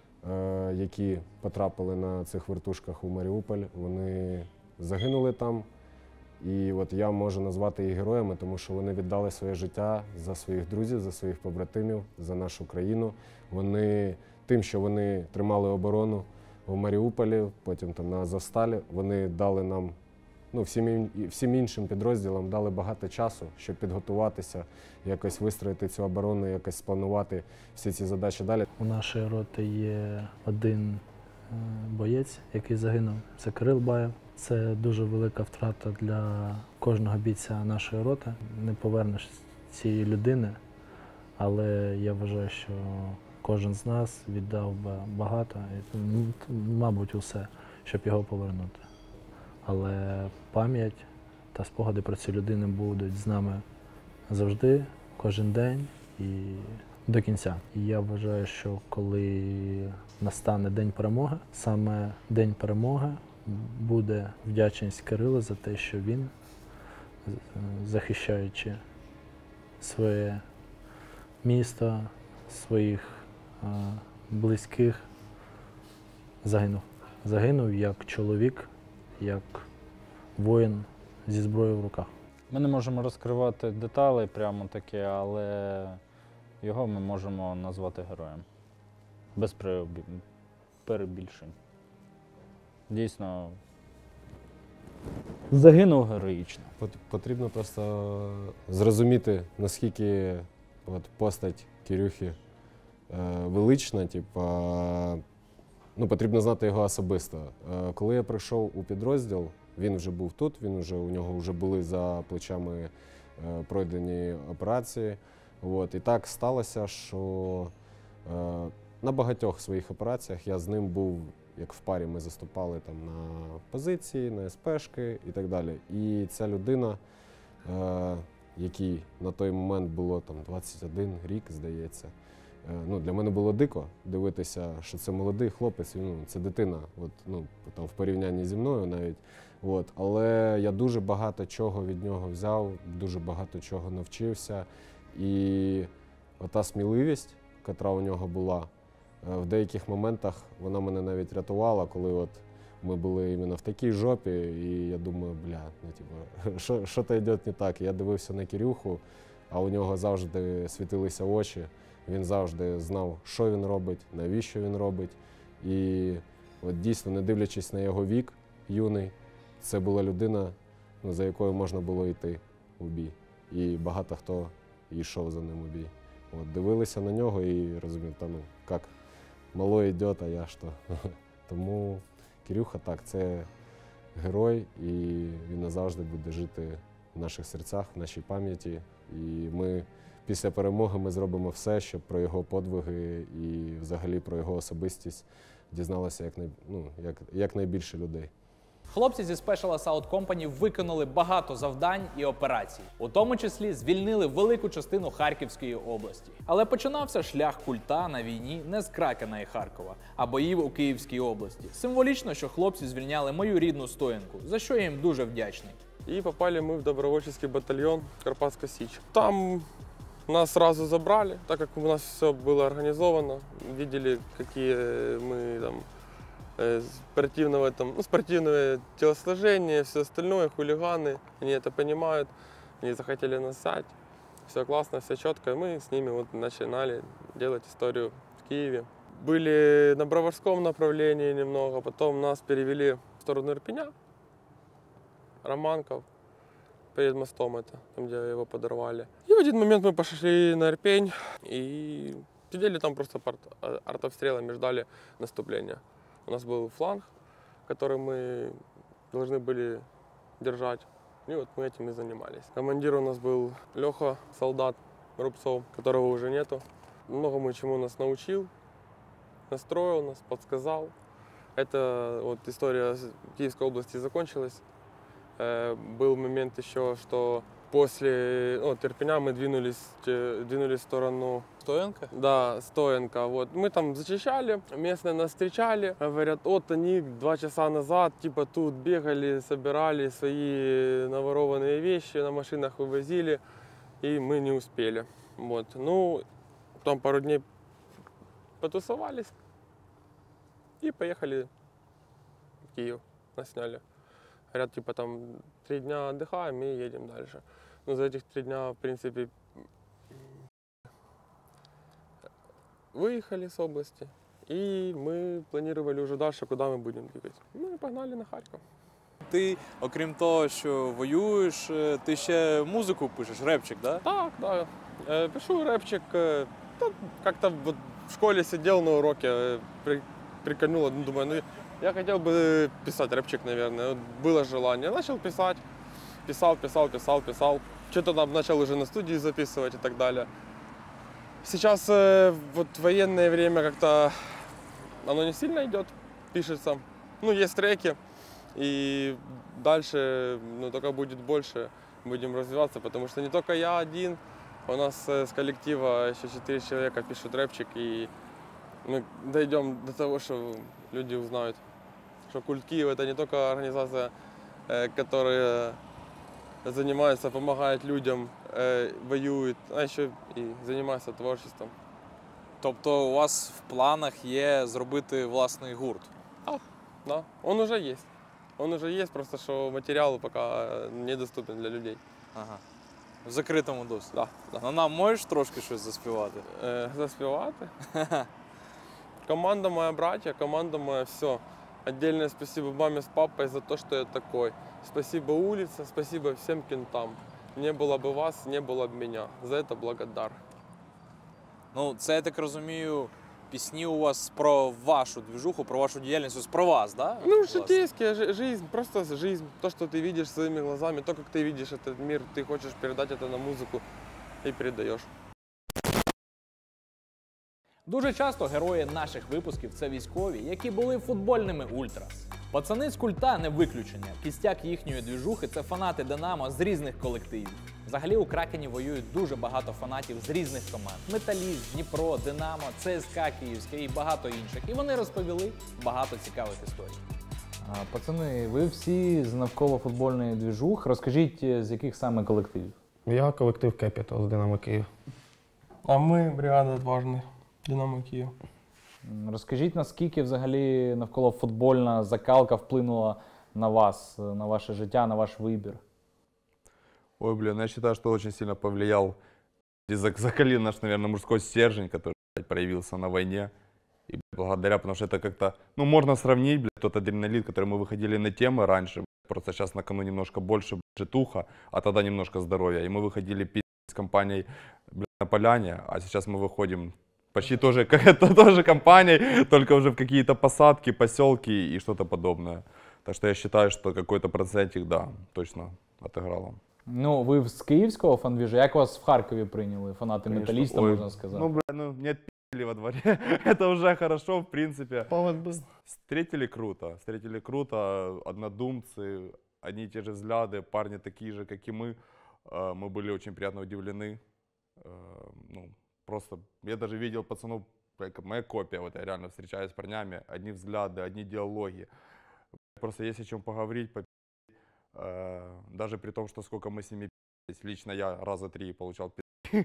які потрапили на цих вертушках у Маріуполь, вони загинули там. І от я можу назвати їх героями, тому що вони віддали своє життя за своїх друзів, за своїх побратимів, за нашу країну. Вони тим, що вони тримали оборону в Маріуполі, потім там на Азовсталі, вони дали нам, всім іншим підрозділам дали багато часу, щоб підготуватися, якось вистроїти цю оборону, якось спланувати всі ці задачі далі. У нашої роти є один боєць, який загинув. Це Кирил Баєв. Це дуже велика втрата для кожного бійця нашої роти. Не повернеш цієї людини, але я вважаю, що кожен з нас віддав би багато, мабуть, усе, щоб його повернути. Але пам'ять та спогади про цю людину будуть з нами завжди, кожен день і до кінця. І я вважаю, що коли настане День перемоги, саме День перемоги буде вдячність Кирилу за те, що він, захищаючи своє місто, своїх близьких, загинув. Загинув як чоловік, як воїн зі зброєю в руках. Ми не можемо розкривати деталі прямо такі, але його ми можемо назвати героєм. Без перебільшень. Дійсно, загинув героїчно. Потрібно просто зрозуміти, наскільки постать Кирюхи велична, потрібно знати його особисто. Коли я прийшов у підрозділ, він вже був тут, у нього вже були за плечами пройдені операції. І так сталося, що на багатьох своїх операціях я з ним був, як в парі ми заступали там на позиції, на СПшки і так далі. І ця людина, якій на той момент було там 21 рік, здається, для мене було дико дивитися, що це молодий хлопець, це дитина, там, в порівнянні зі мною навіть. Але я дуже багато чого від нього взяв, дуже багато чого навчився. І ота сміливість, яка у нього була, в деяких моментах вона мене навіть рятувала, коли ми були іменно в такій жопі, і я думаю, що то йде не так. Я дивився на Кирюху, а у нього завжди світилися очі, він завжди знав, що він робить, навіщо він робить. І дійсно, не дивлячись на його вік юний, це була людина, за якою можна було йти у бій. І багато хто йшов за ним у бій. Дивилися на нього і розумів, як мало йде, а я що. Тому Кирюха так, це герой, і він назавжди буде жити в наших серцях, в нашій пам'яті. І ми після перемоги ми зробимо все, щоб про його подвиги і взагалі про його особистість дізналося якнайбільше людей. Хлопці зі Special Assault Company виконали багато завдань і операцій, у тому числі звільнили велику частину Харківської області. Але починався шлях культа на війні не з Кракена і Харкова, а боїв у Київській області. Символічно, що хлопці звільняли мою рідну Стоянку, за що я їм дуже вдячний. И попали мы в добровольческий батальон Карпатская Сич. Там нас сразу забрали, так как у нас все было организовано, видели, какие мы там спортивное телосложение, все остальное, хулиганы, они это понимают, они захотели нас взять, все классно, все четко, и мы с ними вот начинали делать историю в Киеве. Были на Броварском направлении немного, потом нас перевели в сторону Ирпеня, Романков, перед мостом это, там, где его подорвали. И в один момент мы пошли на Ирпень и сидели там просто под артобстрелами, ждали наступления. У нас был фланг, который мы должны были держать. И вот мы этим и занимались. Командир у нас был Леха, солдат Рубцов, которого уже нету. Многому чему нас научил, настроил нас, подсказал. Это вот история Киевской области закончилась. Был момент еще, что после Ирпеня мы двинулись в сторону... Стоянка? Да, Стоянка. Вот. Мы там зачищали, местные нас встречали. Говорят, вот они 2 часа назад типа тут бегали, собирали свои наворованные вещи, на машинах вывозили, и мы не успели. Вот. Ну, там пару дней потусовались и поехали в Киев. Нас сняли. Говорят, типа там 3 дня отдыхаем и едем дальше. Но за этих 3 дня, в принципе, выехали с области. И мы планировали уже дальше, куда мы будем двигать. Ну и погнали на Харьков. Ти, окрім того, що воюєш, ти ще музику пишеш, репчик, да? Так, да. Пишу репчик. Как-то вот в школе сидел на уроке, прикольнуло, думаю, ну я хотел бы писать рэпчик, наверное. Вот было желание. Начал писать. Писал. Что-то там начал уже на студии записывать и так далее. Сейчас вот военное время как-то оно не сильно идет, пишется. Ну, есть треки. И дальше, ну, только будет больше, будем развиваться, потому что не только я один. У нас с коллектива еще 4 человека пишут рэпчик, и мы дойдем до того, что люди узнают, что Культ Киев — это не только организация, которая занимается, помогает людям, воюет, а еще и занимается творчеством. Тобто у вас в планах є зробити власний гурт? Да, он уже есть. Он уже есть, просто что материал пока недоступен для людей. Ага. В закритому доступі? Да. Ну нам можеш трошки щось заспівати? Заспівати? Команда моя братья, команда моя все. Отдельное спасибо маме с папой за то, что я такой. Спасибо улице, спасибо всем кентам. Не было бы вас, не было бы меня. За это благодар. Ну, це, я так розумію, пісні у вас про вашу движуху, про вашу діяльність, про вас, да? Ну, житейская жизнь, просто жизнь. То, что ты видишь своими глазами, то, как ты видишь этот мир, ты хочешь передать это на музыку и передаешь. Дуже часто герої наших випусків – це військові, які були футбольними ультрас. Пацани з Культа не виключення. Кістяк їхньої двіжухи – це фанати Динамо з різних колективів. Взагалі у Кракені воюють дуже багато фанатів з різних команд. Металіст, Дніпро, Динамо, ЦСКА Київське і багато інших. І вони розповіли багато цікавих історій. Пацани, ви всі з навколо футбольної двіжух. Розкажіть, з яких саме колективів? Я колектив Capital з Динамо Київ. А ми бригада Отважний. Динамо Київ. Розкажіть, наскільки взагалі навколо футбольна закалка вплинула на вас, на ваше життя, на ваш вибір? Ой, блин, я считаю, что очень сильно повлиял и закалил наш, наверное, мужской стержень, который проявился на войне. И благодаря, потому что это как-то, ну, можно сравнить, блядь, тот адреналин, который мы выходили на темы раньше, просто сейчас на кону немножко больше житуха, а тогда немножко здоровья. И мы выходили пить с компанией, блядь, на поляне, а сейчас мы выходим почти тоже компанией, только уже в какие-то посадки, поселки и что-то подобное. Так что я считаю, что какой-то процентик, да, точно отыграло. Ну, ви з київського фан-двіжу, як вас в Харкові прийняли? Фанати Конечно. металіста, Ой, можна сказати. Ну, бля, ну, нет, во дворе. Это уже хорошо, в принципе. Повод был. Встретили круто, однодумцы, одни и те же взгляды, парни такие же, как и мы. Мы были очень приятно удивлены. Ну, просто я даже видел пацанов, моя копия, вот я реально встречаюсь с парнями, одни взгляды, одни диалоги. Просто есть о чем поговорить, даже при том, что сколько мы с ними пи***лись, лично я раза 3 получал пи***,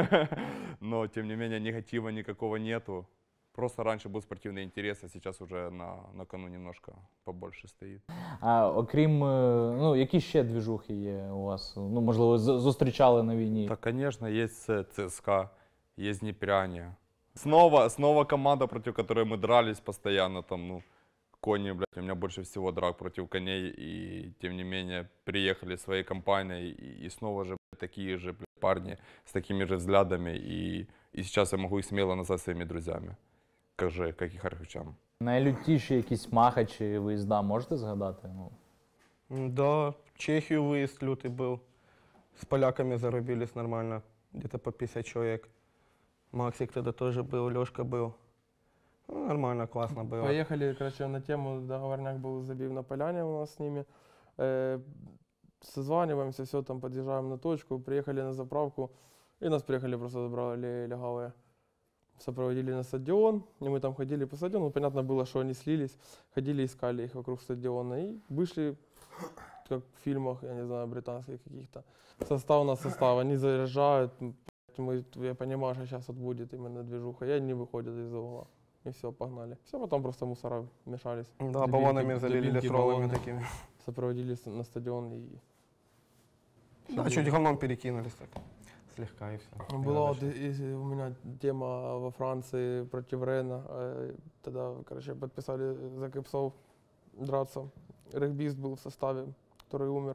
но тем не менее негатива никакого нету. Просто раньше був спортивний інтерес, а зараз вже на кону немножко побольше стоїть. А окрім, ну, які ще двіжухи є у вас? Ну, можливо, зустрічали на війні? Так, конечно, есть ЦСКА, есть Днепряне. Снова команда, против которой мы дрались постоянно, там, ну, кони, блядь, у меня больше всего драк против коней, и тем не менее приехали своей компанией, и снова же, блядь, такие же, блядь, парни с такими же взглядами, и сейчас я могу их смело назвать своими друзьями. Як і харківчан. Найлютіші якісь махачі виїзда можете згадати? Да, в Чехию выезд лютый был. С поляками зарубились нормально, где-то по 50 человек. Максик тогда тоже был, Лёшка был. Ну, нормально, классно было. Поехали, короче, на тему, договорняк был забив на поляне у нас с ними. Созваниваемся, все, там подъезжаем на точку, приехали на заправку, и нас приехали, просто забрали легавые. Сопроводили на стадион, и мы там ходили по стадиону, ну, понятно было, что они слились, ходили, искали их вокруг стадиона, и вышли, как в фильмах, я не знаю, британских каких-то. Состав на состав, они заряжают, я понимаю, что сейчас вот будет именно движуха, и они выходят из-за угла. И все, погнали. Все, потом просто мусора мешались. Да, баллонами залили, с роллами такими. Сопроводили на стадион и... Да, чуть говном перекинулись так. Слегка и все. Была вот у меня тема во Франции против Рена. Тогда, короче, подписали за Кэпсов драться. Регбист был в составе, который умер.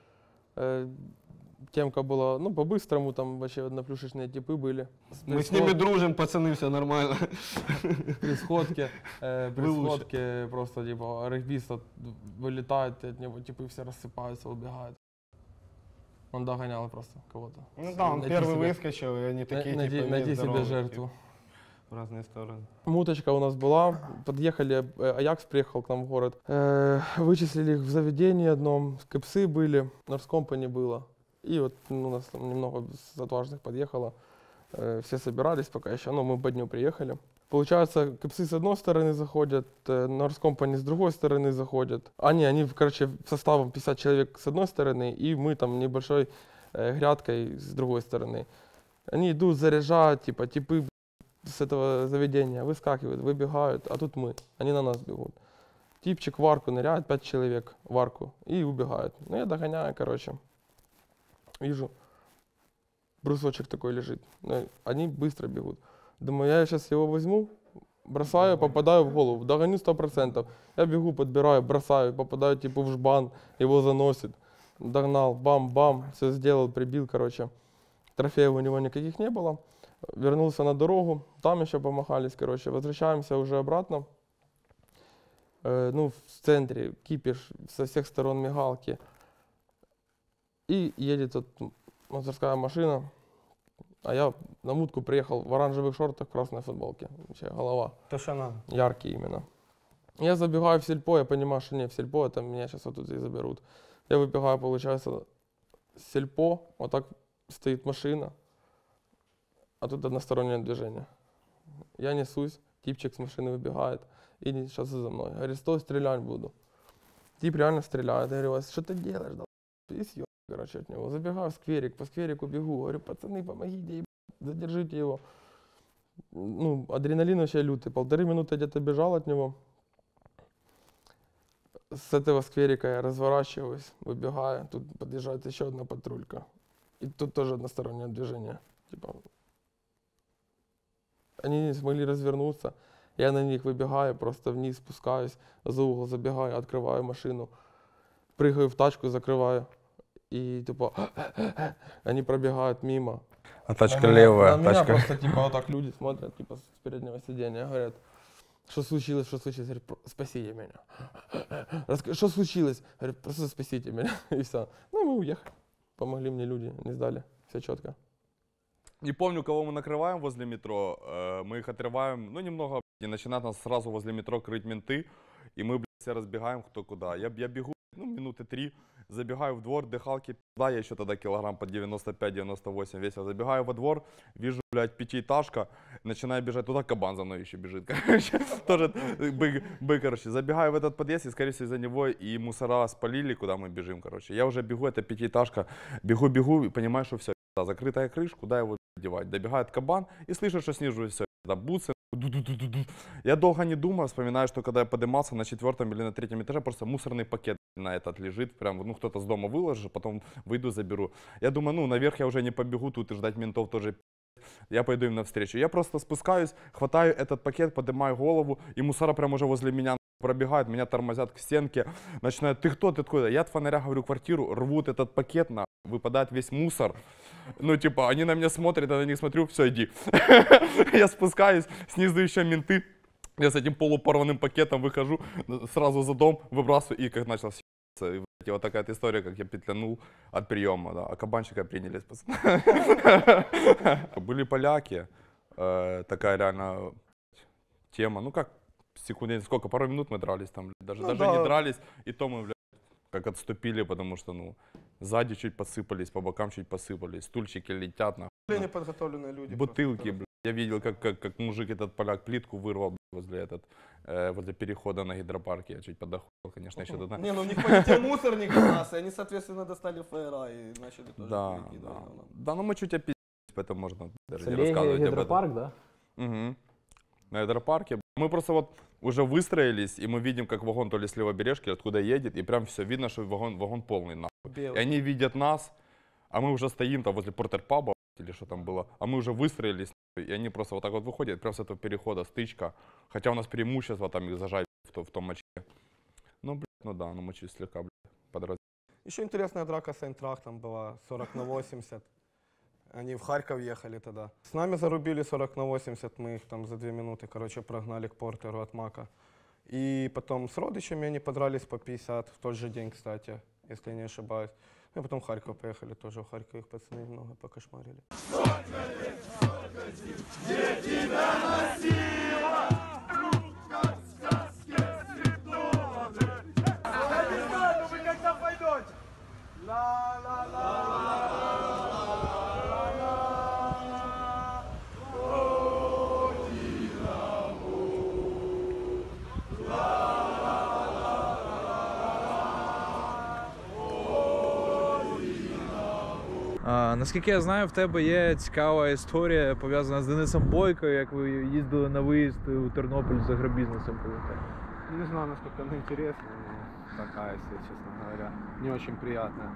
Темка была, ну, по-быстрому, там вообще одноплюшечные типы были. Мы с ними дружим, пацаны, все нормально. При сходке просто, типа, регбист вылетает, от него типы все рассыпаются, убегают. Он догонял просто кого-то. Ну да, он первый выскочил, и они такие, типа, найди себе жертву. В разные стороны. Муточка у нас была. Подъехали, Аякс приехал к нам в город. Вычислили их в заведении одном, Кэпсы были, Норскомпани было. И вот у нас там немного с отважных подъехало. Все собирались пока еще, но мы по дню приехали. Получается, Кэпсы с одной стороны заходят, Норскомпани с другой стороны заходят. Они, короче, составом 50 человек с одной стороны, и мы там небольшой грядкой с другой стороны. Они идут, заряжают, типа, типы с этого заведения выскакивают, выбегают, а тут мы, они на нас бегут. Типчик в арку ныряет, 5 человек в арку, и убегают. Ну, я догоняю, короче, вижу, брусочек такой лежит, они быстро бегут. Думаю, я сейчас его возьму, бросаю, попадаю в голову, догоню 100%. Я бегу, подбираю, бросаю, попадаю типа в жбан, его заносит. Догнал, бам-бам, все сделал, прибил, короче. Трофеев у него никаких не было. Вернулся на дорогу, там еще помахались, короче. Возвращаемся уже обратно. Ну, в центре кипиш, со всех сторон мигалки. И едет вот мусорская машина. А я на мутку приехал в оранжевых шортах, в красной футболке. Вообще голова. То, что надо. Яркий именно. Я забегаю в сельпо, я понимаю, что не в сельпо, это меня сейчас вот тут и заберут. Я выбегаю, получается, с сельпо, вот так стоит машина, а тут одностороннее движение. Я несусь, типчик с машины выбегает и сейчас за мной. Говорит, стой, стрелять буду. Тип реально стреляет. Я говорю, что ты делаешь? Да? И съеб, короче, от него. Забегаю в скверик, по скверику бегу. Говорю, пацаны, помогите, задержите его. Ну, адреналин вообще лютый. 1,5 минуты где-то бежал от него. С этого скверика я разворачиваюсь, выбегаю. Тут подъезжает еще одна патрулька. И тут тоже одностороннее движение. Типа, они не смогли развернуться. Я на них выбегаю, просто вниз спускаюсь, за угол забегаю, открываю машину, прыгаю в тачку, закрываю. И типа, они пробегают мимо. А тачка левая. На меня просто типа вот так люди смотрят, типа с переднего сиденья, говорят, что случилось, что случилось? Говорят, спасите меня. Что случилось? Говорят, просто спасите меня. И все. Ну и мы уехали. Помогли мне люди, не сдали. Все четко. Не помню, кого мы накрываем возле метро. Мы их отрываем, ну, немного, и начинают нас сразу возле метро крыть менты. И мы, блядь, все разбегаем кто куда. Я бегу, ну, минуты 3, забегаю в двор, дыхалки, да, я еще тогда килограмм по 95-98 весил. Забегаю во двор, вижу, блядь, пятиэтажка, начинаю бежать туда, кабан за мной еще бежит, короче. Тоже бык, короче. Забегаю в этот подъезд, и, скорее всего, из-за него и мусора спалили, куда мы бежим, короче. Я уже бегу, это пятиэтажка, бегу, и понимаю, что все, закрытая крыша, куда его девать. Добегает кабан, и слышу, что снизу все, бутсы. Я долго не думаю, вспоминаю, что когда я поднимался на 4-м или на 3-м этаже, просто мусорный пакет на этот лежит, прям, ну, кто-то с дома выложил, потом выйду, заберу. Я думаю, ну, наверх я уже не побегу, тут и ждать ментов тоже, я пойду им навстречу. Я просто спускаюсь, хватаю этот пакет, поднимаю голову, и мусора прям уже возле меня пробегают, меня тормозят к стенке, начинают, ты кто, ты откуда? Я от фонаря говорю квартиру, рвут этот пакет, выпадает весь мусор. Ну, типа, они на меня смотрят, я на них смотрю, все, иди. Я спускаюсь, снизу еще менты. Я с этим полупорванным пакетом выхожу, сразу за дом выбрасываю, и как начал съебаться. И вот такая история, как я петлянул от приема, да. А кабанчика приняли, пацаны. Были поляки, такая реально тема, ну как, секунд, сколько, пару минут мы дрались там, даже не дрались, и то мы, блядь, как отступили, потому что, ну, сзади чуть посыпались, по бокам чуть посыпались, стульчики летят, нахуй. Неподготовленные люди. Бутылки, блядь. Я видел, как мужик этот поляк плитку вырвал, блядь, возле перехода на гидропарке. Я чуть подохуел, конечно, еще туда. Не, ну у них полетел мусорник у нас, и они, соответственно, достали ФРА и начали тоже выкидывать. Да, ну мы чуть опиздились, поэтому можно даже не рассказывать об этом. Гидропарк, да? Угу. На гидропарке. Мы просто вот уже выстроились, и мы видим, как вагон то ли с левобережки, откуда едет, и прям все видно, что вагон полный, нахуй. И они видят нас, а мы уже стоим там возле портер-паба, или что там было, а мы уже выстроились, и они просто вот так вот выходят, прям с этого перехода стычка, хотя у нас преимущество там их зажать в том маче. Ну, блядь, ну да, ну мы чуть слегка, блядь, подразили. Еще интересная драка с Айнтрахтом была, 40/80. Они в Харьков ехали тогда. С нами зарубили 40/80, мы их там за 2 минуты, короче, прогнали к портеру от Мака. И потом с родичами они подрались по 50, в тот же день, кстати, если я не ошибаюсь. И потом в Харьков поехали, тоже в Харьков их пацаны немного покошмарили. Наскільки я знаю, в тебе є цікава історія, пов'язана з Денисом Бойко, як ви їздили на виїзд у Тернопіль з агробізнесом. Не знаю, насколько она интересна, но такая, если честно говоря, не очень приятная.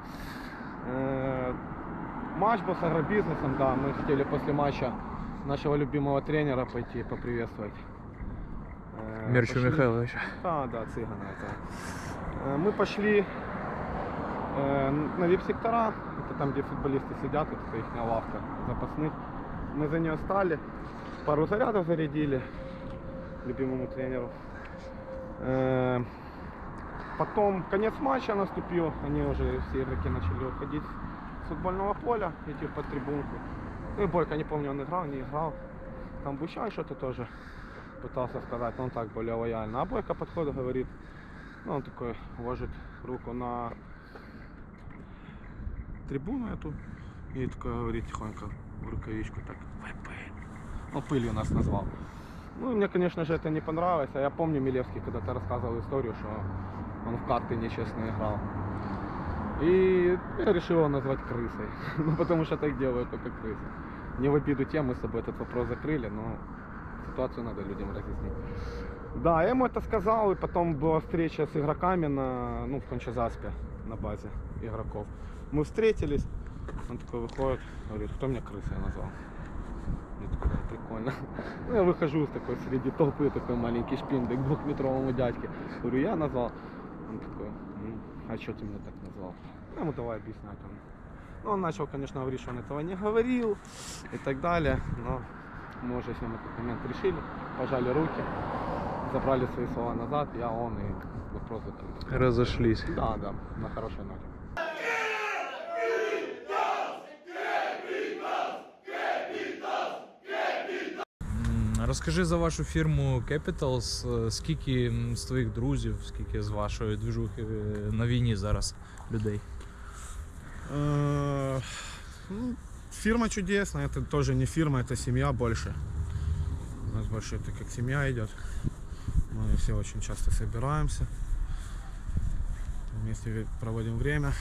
Матч был с агробизнесом, да, мы хотели после матча нашего любимого тренера пойти поприветствовать. Мерчу Михайловича. Да, Цыгана. Это. Мы пошли на вип-сектора, это там, где футболисты сидят, это их лавка запасных. Мы за нее стали, пару зарядов зарядили любимому тренеру. Потом конец матча наступил, они уже все игроки начали уходить с футбольного поля, идти под трибунку. Ну и Бойко, не помню, он играл, не играл. Там Бущан что-то тоже пытался сказать, но он так более лояльно. А Бойко подходит, говорит, ну он такой ложит руку на трибуну эту и такой говорит тихонько в рукавичку так ВП. Ну, пылью нас назвал. Ну, мне, конечно же, это не понравилось. А я помню, Милевский когда-то рассказывал историю, что он в карты нечестно играл. И я решил его назвать крысой. Ну, потому что так делают только крысы. Не в обиду тем, мы с собой этот вопрос закрыли, но ситуацию надо людям разъяснить. Да, я ему это сказал, и потом была встреча с игроками в Кончазаспе, на базе игроков. Мы встретились, он такой выходит, говорит, кто меня крысой назвал? Я такой, прикольно. Ну, я выхожу такой среди толпы, такой маленький шпиндик, 2-метровому дядьке. Говорю, я назвал. Он такой, а что ты меня так назвал? Я ему давай объяснять. Ну, он начал, конечно, говорить, что он этого не говорил и так далее. Но мы уже с ним этот момент решили, пожали руки, забрали свои слова назад, он и вопрос закрыт. Разошлись. Да, на хорошей ноте. Розкажи за вашу фірму Capitals, скільки з твоїх друзів, скільки з вашої движухи на війні зараз людей? Фирма чудесная, это тоже не фирма, это семья больше. У нас больше это как семья идет. Мы все очень часто собираемся, вместе проводим время.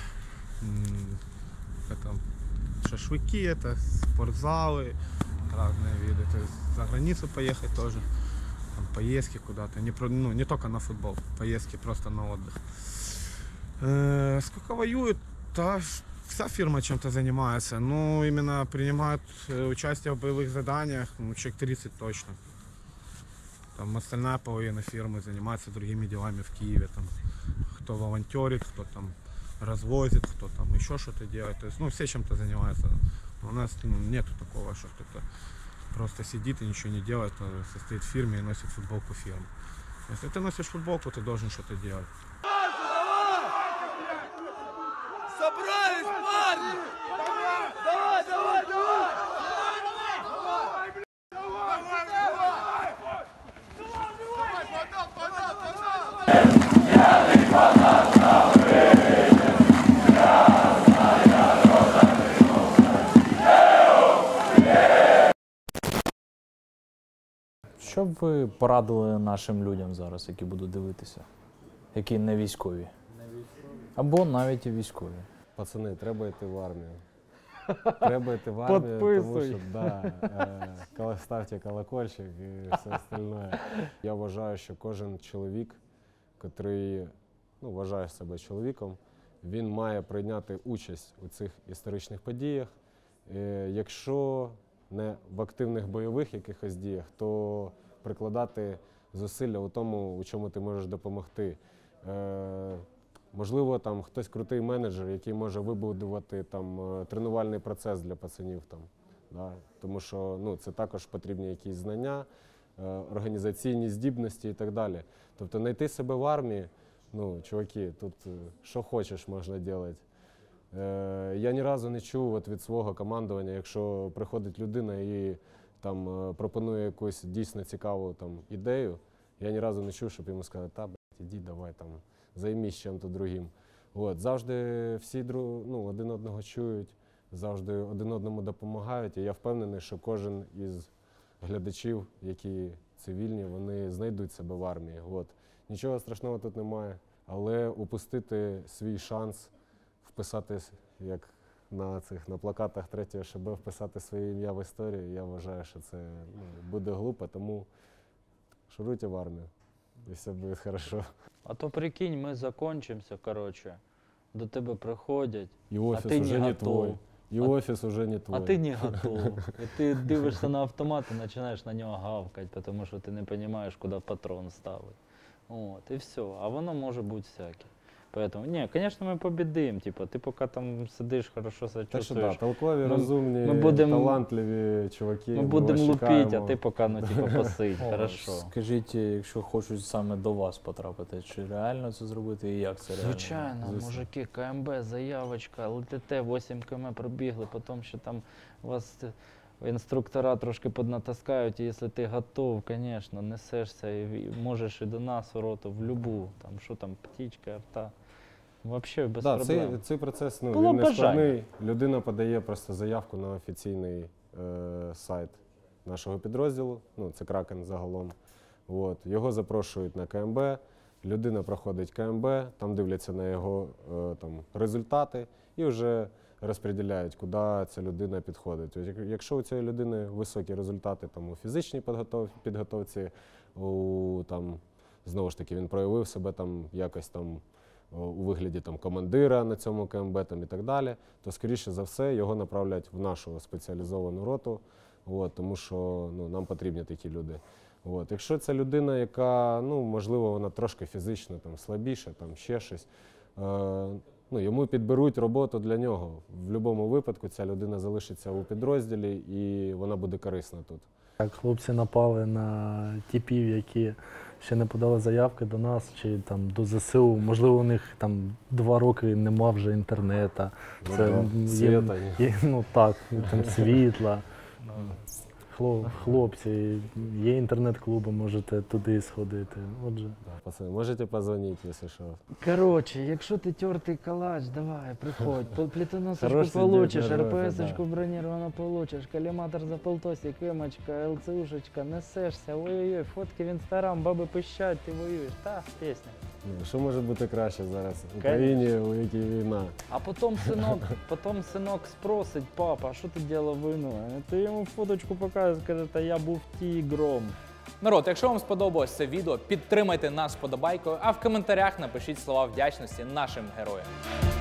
Это шашлыки, это спортзалы, разные виды. То есть за границу поехать тоже, там, поездки куда-то, не только на футбол, поездки просто на отдых. Сколько воюют? Да, вся фирма чем-то занимается, но именно принимают участие в боевых заданиях, человек 30 точно. Там остальная половина фирмы занимается другими делами в Киеве. Там, кто волонтерит, кто там развозит, кто там еще что-то делает. То есть, все чем-то занимаются. У нас нету такого, что кто-то просто сидит и ничего не делает, состоит в фирме и носит футболку фирмы. Если ты носишь футболку, ты должен что-то делать. Собрались, парни! Давай, давай, давай! Що б ви порадили нашим людям зараз, які будуть дивитися, які не військові? Або навіть і військові. Пацани, треба йти в армію. Треба йти в армію, тому що, ставте колокольчик і все остальне. Я вважаю, що кожен чоловік, який вважає себе чоловіком, він має прийняти участь у цих історичних подіях. Якщо не в активних бойових якихось діях, то прикладати зусилля у тому, у чому ти можеш допомогти. Можливо, там хтось крутий менеджер, який може вибудувати там тренувальний процес для пацанів там, да? Тому що це також потрібні якісь знання, організаційні здібності і так далі. Тобто знайти себе в армії, чуваки, тут що хочеш можна робити. Я ні разу не чув від свого командування, якщо приходить людина і там пропонує якусь дійсно цікаву там ідею, я ні разу не чув, щоб йому сказали, іди, давай там, займись чим-то другим. Завжди всі один одного чують, завжди один одному допомагають, і я впевнений, що кожен із глядачів, які цивільні, вони знайдуть себе в армії. Нічого страшного тут немає, але упустити свій шанс вписати, як на плакатах 3-го ШБ, вписати своє ім'я в історію, я вважаю, що це буде глупо, тому шуруйте в армію, і все буде добре. А то прикинь, ми закончимося, до тебе приходять, і офіс а ти уже не твой. готов. І офіс уже не твой. А ти не готов. І ти дивишся на автомат і починаєш на нього гавкати, тому що ти не розумієш, куди патрон ставити. І все. А воно може бути всяке. Поэтому, конечно, мы победим, ты пока там сидишь, хорошо себя чувствуешь. Так що, толкові, розумні, талантливі чуваки. Ми будемо лупити, а ти поки, посидь, хорошо. Скажіть, якщо хочуть саме до вас потрапити, чи реально це зробити і як це реально? Звичайно, мужики, КМБ, заявочка, ЛТТ, 8 км пробігли, потім ще там вас інструктора трошки піднатаскають, і якщо ти готов, звісно, несешся і можеш і до нас у роту, в любу, птічка, арта. Взагалі без проблем. Цей процес він не складний. Людина подає просто заявку на офіційний сайт нашого підрозділу, це Кракен загалом. Його запрошують на КМБ, людина проходить КМБ, там дивляться на його результати і вже розподіляють, куди ця людина підходить. Якщо у цієї людини високі результати у фізичній підготовці, знову ж таки, він проявив себе якось у вигляді командира на цьому КМБ і так далі, то, скоріше за все, його направлять в нашу спеціалізовану роту, тому що нам потрібні такі люди. Якщо це людина, яка, можливо, вона трошки фізично слабіша, ще щось, йому підберуть роботу для нього. В будь-якому випадку ця людина залишиться у підрозділі і вона буде корисна тут. Так, хлопці напали на типів, які ще не подали заявки до нас чи до ЗСУ. Можливо, у них 2 роки нема вже інтернету. Світа. Світла. хлопці, є інтернет-клуби, можете туди сходити. Отже. Пацани, можете позвонити, якщо що. Короче, якщо ти тертий калач, давай, приходь. Плитоносочку Хороший получиш, дед на рота, РПСочку бронировано получиш, коліматор за полтосик, емочка, ЛЦУшечка, несешся, ой-ой-ой, фотки в інстаграм, баби пищать, ти воюєш. Та, пісня. Що може бути краще зараз в Україні, у якій війна? А потім синок спросить, папа, а що ти робив війну? Ти йому фоточку показуєш, каже, та я був тігром. Народ, якщо вам сподобалось це відео, підтримайте нас вподобайкою, а в коментарях напишіть слова вдячності нашим героям.